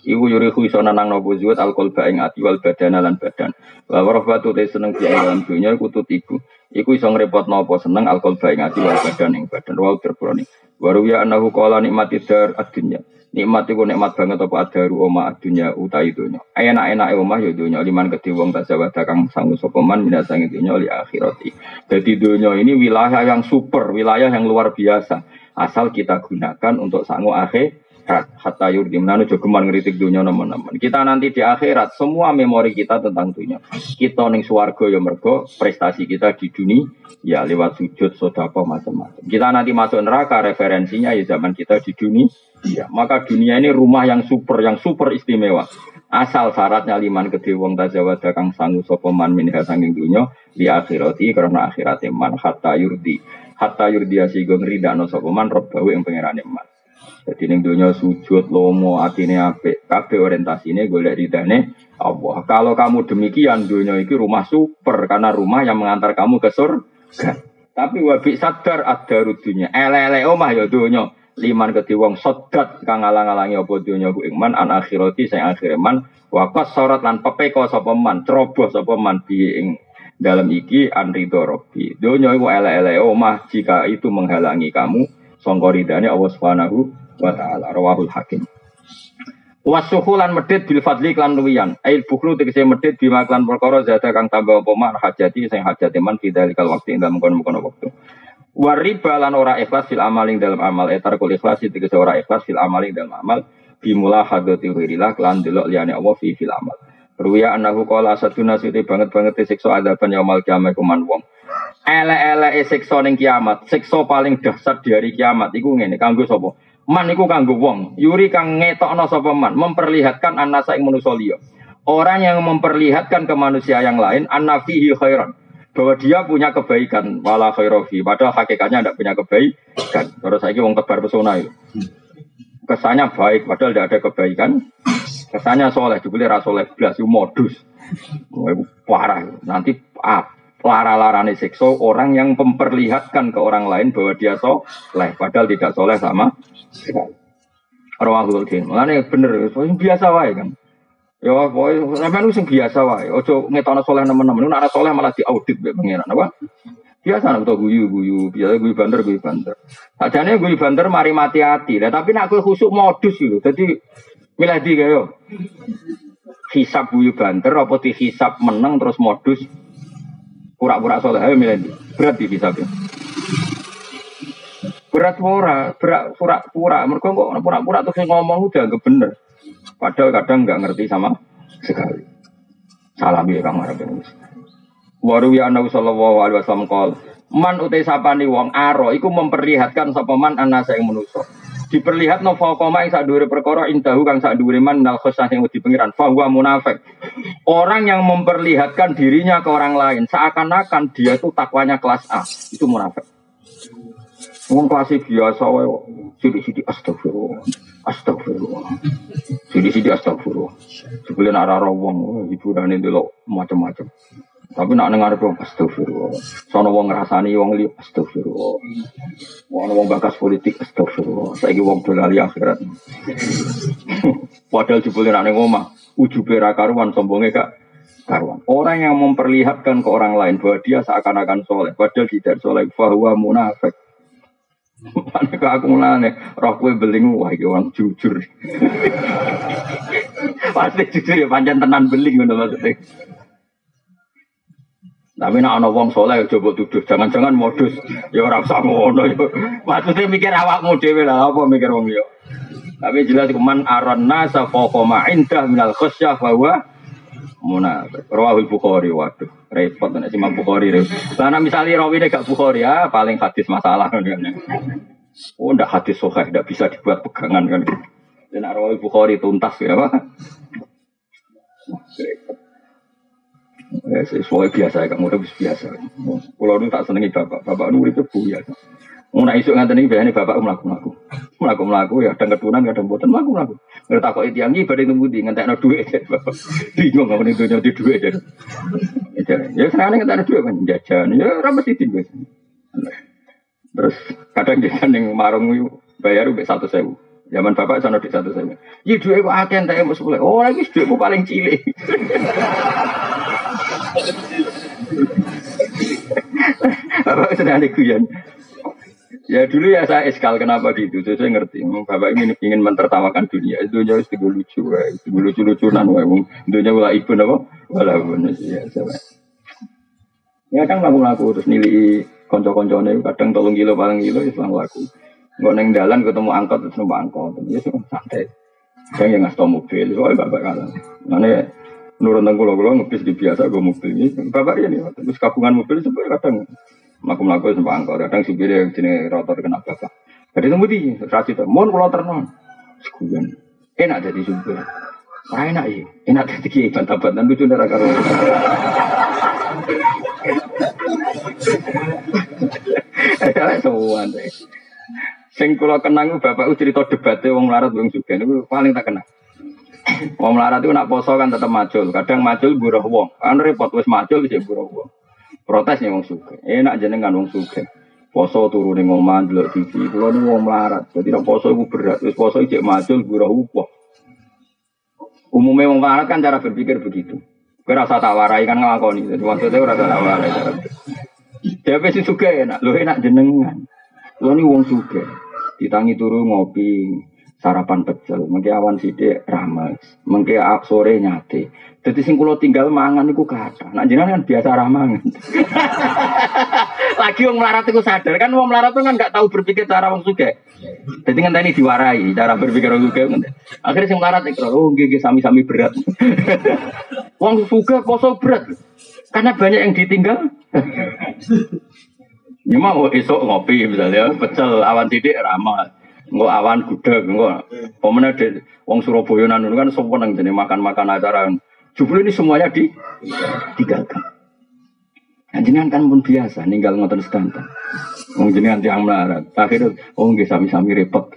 Iku yurihu iso nanang nopo zuhud al-qalba ing ati wal badana lan badan. Wa warahbatu te seneng di dalam dunya iku tutiku. Iku iso ngrepot nopo seneng al-qalba ing ati wal badan ing badan. Wa terbroni. Wa ruya annahu qala nikmati dar ad-dunya. Nikmat iku nikmat banget apa adaru omah ad-dunya utai dunya. Enak-enake omah ya dunya liman kedhe wong tasawada kang sangu sapa man minasange dunya li akhirati. Jadi dunya ini wilayah yang super, wilayah yang luar biasa. Asal kita gunakan untuk sangu akhir hatta yurdi menanu jogeman ngritik dunia nemen-nemen. Kita nanti di akhirat semua memori kita tentang dunia. Kita ning swarga ya mergo prestasi kita di dunia ya lewat sujud sedekah macam-macam. Kita nanti masuk neraka referensinya ya zaman kita di dunia. Ya, maka dunia ini rumah yang super yang super istimewa. Asal syaratnya liman kedhe wong tazawada kang sangu sapa man minha sanging dunya di akhirati karena akhirate man hatta yurdi. Hatta yurdi asigo ngridakno sapa man robbahu ing pangerane man. Jadi ning donya sujud lomo atine apik, kabeh orientasine golek ridane Allah. Kalau kamu demikian donya iki rumah super karena rumah yang mengantar kamu ke surga. Tapi wabi sadar ada rudunya. Ele-ele omah ya donya. Liman kedhe wong sodat kang ngalang-alangi apa donya ku ing man an akhirati sing akhire man wa qasarat lan pepeko sapa man, ceroboh sapa man bi ing dalam iki an ridho rabbi. Donya iku ele-ele omah jika itu menghalangi kamu sangka ridane Allah Subhanahu wa ta'ala. Rawahul Hakim. Wasuhulan medit bil fadli klan luwiyan. Ail bukhlu tegese medit bima klan perkara zada kang tambah apa mak hajati sing hajate man fidalikal waqti ing dalem kono-kono wektu. Wariba lan ora ikhlas fil amaling dalam amal etar kul ikhlas tegese ora ikhlas fil amaling dalam amal bimula hadati wirillah klan delok liyane Allah fi fil amal. Ruya anahu qala saduna siti banget-banget siksa adaban yaumul kiamah kuman wong. Ele-ele siksa ning kiamat, siksa paling dahsyat di hari kiamat iku ngene kanggo sapa? Man iku kanggo wong, yuri kang ngetokno sapa man, memperlihatkan annasa ing manusa liya. Orang yang memperlihatkan ke manusia yang lain annafihi khairan, bahwa dia punya kebaikan, wala khairofi, padahal hakikatnya tidak punya kebaikan. Terus saiki wong tebar pesona itu. Kesannya baik, padahal tidak ada kebaikan. Kesannya soleh, dibeli rasoleh belas, itu modus. Itu parah, nanti apa? Lara-larane siksa orang yang memperlihatkan ke orang lain bahwa dia soleh, padahal tidak soleh sama sekali. Rawahul Hakim. Mulane bener, biasa wae kan. Ya pokoke sampeyan sing biasa wae. Aja ngetokno soleh nemen-nemen. Nek ana soleh malah diaudit mbek pangeran apa? Biasa nek guyu-guyu, biasa guyu banter, guyu banter. Sajane guyu banter mari mati ati. Lah tapi nek kowe khusuk modus lho. Dadi milih ndi kaya. Hisab guyu banter apa dihisab meneng terus modus pura-pura soleh, ayo milih berat di hisabnya. Berat pura, berat pura-pura. Mereka kok pura-pura terus ngomong udah anggap bener. Padahal kadang nggak ngerti sama sekali. Salam ya Kang Arab. Waru ya Nabi sallallahu alaihi wasallam qol, man utai sapani wong aro iku memperlihatkan sapa man anasa ing manusa. Diperlihatno faqama ing sak dhuwure perkara indahu kang sak dhuwure man nal khosah sing wedi pengiran fa huwa munafik. Orang yang memperlihatkan dirinya ke orang lain seakan-akan dia itu takwanya kelas A, itu munafik. Wong kelas biasa wae kok. Sidi-sidi astagfirullah. Astagfirullah. Sidi-sidi astagfirullah. Sebelum ora-ora wong hiburane ndelok macam-macam. Tapi nak dengar dong astagfirullah. Sono wong ngrasani wong liya astagfirullah. Wong wong bakas politik astagfirullah. Saiki wong dolali akhirat. Padahal jebule nak ning omah, ujube ra karuan, sombonge gak karuan. Orang yang memperlihatkan ke orang lain bahwa dia seakan-akan soleh, padahal tidak soleh, bahwa munafik. Ane kok aku mulane roh kowe beling wah iki wong jujur. Pasti jujur ya pancen tenan beling ngono maksudnya. Tapi nek ana wong saleh coba tuduh, jangan-jangan modus. Ya ora usah ngono ya. Maksudnya mikir awakmu dhewe lah apa mikir wong liya. Tapi jelas kuman arana safaqa ma indah minal khasyah bahwa munafik. Rawahul Bukhari waduh. Repot nek Imam Bukhari. Lah nek misale rawine gak Bukhari ya paling hadis masalah kan. Oh ndak hadis sahih ndak bisa dibuat pegangan kan. Dan Rawahul Bukhari tuntas ya apa? Ya, sesuai biasa, kamu udah biasa. Kalau nu tak senengi bapak, bapak nu itu biasa. Mau nak isuk nganten ini biasanya bapak melaku melaku, melaku melaku ya. Kadang keturunan, kadang buatan melaku melaku. Nggak takut itu yang ini pada tunggu di ngantek no duit. Bingung nggak mending tuh di duit. Ya sekarang ngantek no duit kan jajan. Ya ramai sih tinggal. Terus kadang jajan yang marung bayar udah satu sewu. Zaman bapak sana di satu saya. Iya duitku akeh entek mau sepuluh. Oh lagi duitku paling cilik. Bapak sedang ada guyon. Ya dulu ya saya eskal kenapa gitu. Saya, saya ngerti. Bapak ingin ingin mentertawakan dunia. Dunia itu lucu, itu lucu-lucunan. Dunia wala ibu apa? Wala ibu ya saya. Ya kan laku-laku terus nilai konco-koncone kadang tolong kilo paling kilo ya selang laku. Nggak neng jalan ketemu angkot terus numpak angkot. Ya sih santai. Saya yang ngasih mobil. Soalnya bapak kalah. Mana nurun tengkulo-kulo ngebis di biasa gue mobil ini. Bapak ini terus kabungan mobil sebenarnya kadang melaku-melaku numpak angkot. Kadang supirnya jenis rotor kena bapak. Jadi tunggu di rasi itu. Mohon kulo ternon. Sekuan. Enak jadi supir. Orang enak ya. Enak jadi kiai bantah-bantah lucu darah karo. Eh, semua deh. Sing kula kenang bapak cerita debatnya wong melarat wong sugih niku paling tak kenal. Wong melarat itu nak poso kan tetap macul, kadang macul buruh wong. Kan repot wis macul wis buruh wong. Protes nih wong sugih. Enak jenengan wong sugih. Poso turu ning omah ndelok T V. Kula niku wong melarat. Dadi nek poso iku berat, wis poso iki macul buruh wong. Umumnya wong melarat kan cara berpikir begitu. Kowe rasa tak warai kan nglakoni. Dadi maksudnya ora tak warai. Dewe sing sugih enak, lho enak jenengan. Lho ni wong sugih. Ditangi turu ngopi, sarapan pecel, mengke awan sithik rames, mengke sore nyate. Dadi sing kula tinggal mangan niku kathah. Nek jenengan kan biasa ra mangan. Lagi wong melarat iku sadar kan wong melarat kan enggak tahu berpikir cara wong sugih. Dadi ngenteni diwarai cara berpikir wong sugih ngene. Akhire sing melarat iku oh nggih nggih sami-sami berat. Wong sugih poso berat. Karena banyak yang ditinggal. Ya mau esok ngopi misalnya pecel awan sidik ramah. Engko awan gudeg engko pemene de wong Surabaya nanu kan seneng jenenge makan-makan acara. Jebule ini semuanya di ditinggalkan. Jenengan kan pun biasa ninggal ngoten sedanten. Wong jenengan tiyang melarat. Akhirnya oh nggih sami-sami repot.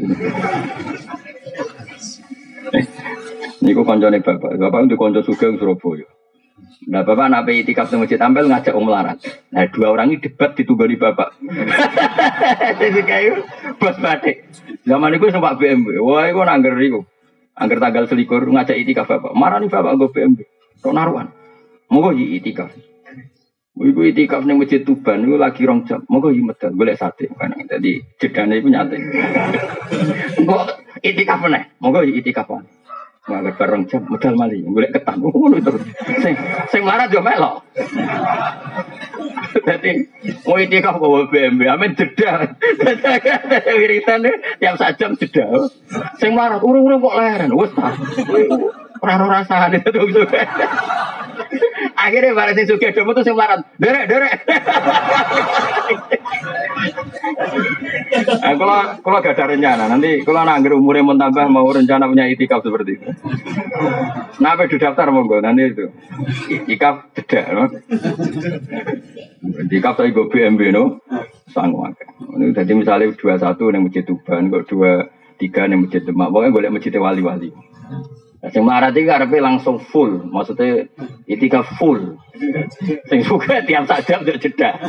Niku kancane bapak. Bapak ndek kanca sugih Surabaya. Nah bapak nape itikaf di masjid tampil ngajak om melarat. Nah dua orang ini debat ditunggali bapak. Jadi kayu bos batik. Zaman itu sempat B M W. Wah itu nangger itu. Angger tanggal selikur ngajak itikaf bapak. Marah nih bapak gue B M W. Tok naruhan. Moga yi itikaf. Iku itikaf di masjid Tuban itu lagi rong jam. Moga yi medal golek sate. Jadi jedane itu nyate. Kok itikaf nih? Moga yi itikaf. Malah bareng jam medal mali, golek ketan ngono terus. Sing sing melarat yo melok. Dadi mau itikaf kok B M W, amen jeda. Wiritan tiap sak jam jeda. Sing melarat urung-urung kok leren, wis ta. Ora ora rasane terus. Akhirnya bareng sing sugih do metu sing melarat. Derek, derek. Nah, kalau kalau gak ada rencana, nanti kalau nangger umurnya mau tambah mau rencana punya itikaf seperti itu. Nah, apa di daftar monggo nanti itu itikaf jeda, no? Itikaf saya go B M W no, sanggup. Ini jadi misalnya dua satu yang masjid Tuban, kok dua tiga yang masjid Demak, pokoknya boleh masjid wali-wali. Yang melarat itu karena langsung full, maksudnya itikaf full. Sing suka tiap sak jam jeda.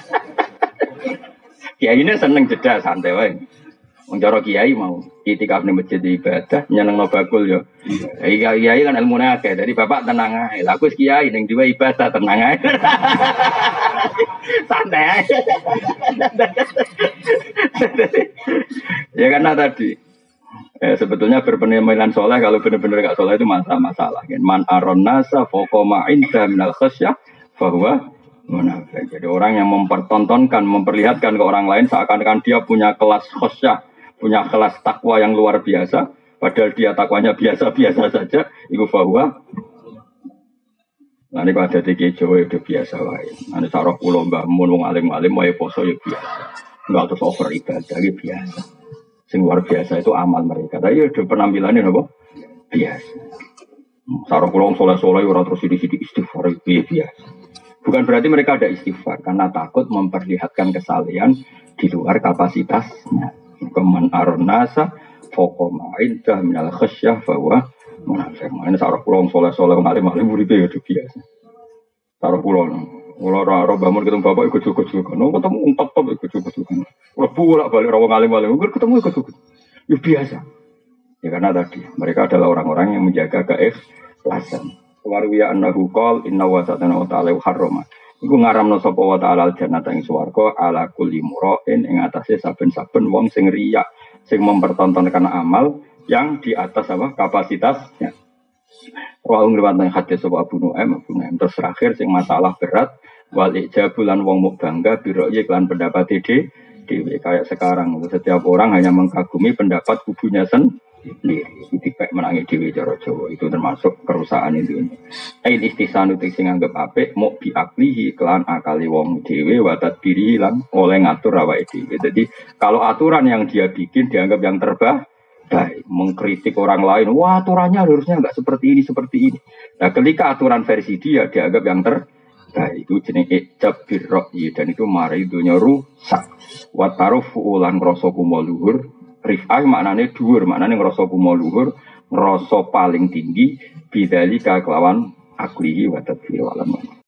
Kiai ini seneng jeda santai wae. Wong cara kiai mau itikaf ning masjid ibadah nyenengno bakul yo. Kiai kiai kan ilmune akeh. Jadi bapak tenang ae. Lah aku kiai ning dhewe ibadah tenang ae. Santai ae. Ya karena tadi eh, sebetulnya berpenampilan soleh kalau benar-benar gak soleh itu masalah-masalah. Man aron nasa fokoma inda minal khasyah bahwa munafik. Jadi orang yang mempertontonkan, memperlihatkan ke orang lain seakan-akan dia punya kelas khosyah, punya kelas takwa yang luar biasa, padahal dia takwanya biasa-biasa saja. Iku bahwa nanti kalau ada di Jawa itu biasa wae. Nanti sarah pulau mbah mun wong alim-alim wae poso ya biasa. Enggak terus over ibadah ya biasa. Sing luar biasa itu amal mereka. Tapi ada penampilannya apa? Biasa. Sarah pulau soleh-soleh orang terus sidik-sidik istighfar biasa. Bukan berarti mereka ada istighfar karena takut memperlihatkan kesalehan di luar kapasitasnya. Keman aronasa fokoma indah minal khasyah bahwa munafik. Ini sarah pulau soleh-soleh ngalim-alim uripe ya biasa. Sarah pulau kalau orang bangun ketemu bapak ikut juga-juga, no ketemu umpat top ikut juga-juga. Kalau bolak balik orang ngalim-alim, ketemu ikut juga, ya biasa. Ya karena tadi mereka adalah orang-orang yang menjaga keikhlasan. Warwiya annahu qol inna wa satana wa ta'ala harrama. Iku ngaramno sapa wa ta'ala al-jannata ing swarga ala kulli mura'in ing atase saben-saben wong sing riya, sing mempertontonkan amal yang di atas apa kapasitasnya. Wa ngriwat nang hadis sapa Abu Nu'aim, Abu Nu'aim terus terakhir sing masalah berat wal ijabulan wong muk bangga biro iklan pendapat ide dhewe kayak sekarang setiap orang hanya mengkagumi pendapat kubunya sendiri. Itu kayak menangi dhewe cara Jawa itu termasuk kerusakan itu. Ain istisanu sing anggap apik muk biaklihi kelan akali wong dhewe wa tadbiri lan oleh ngatur awake dhewe. Jadi kalau aturan yang dia bikin dianggap yang terbaik, baik, mengkritik orang lain, wah aturannya harusnya enggak seperti ini, seperti ini. Nah ketika aturan versi dia dianggap yang terbaik, itu jenis ijab birro'yi, dan itu mari dunia rusak. Watarufu ulan ngerasa kumo luhur, rif'ah maknanya dhuwur, maknanya ngerasa kumo luhur, ngerasa paling tinggi, bidalika kelawan aklihi wa tadbir walam.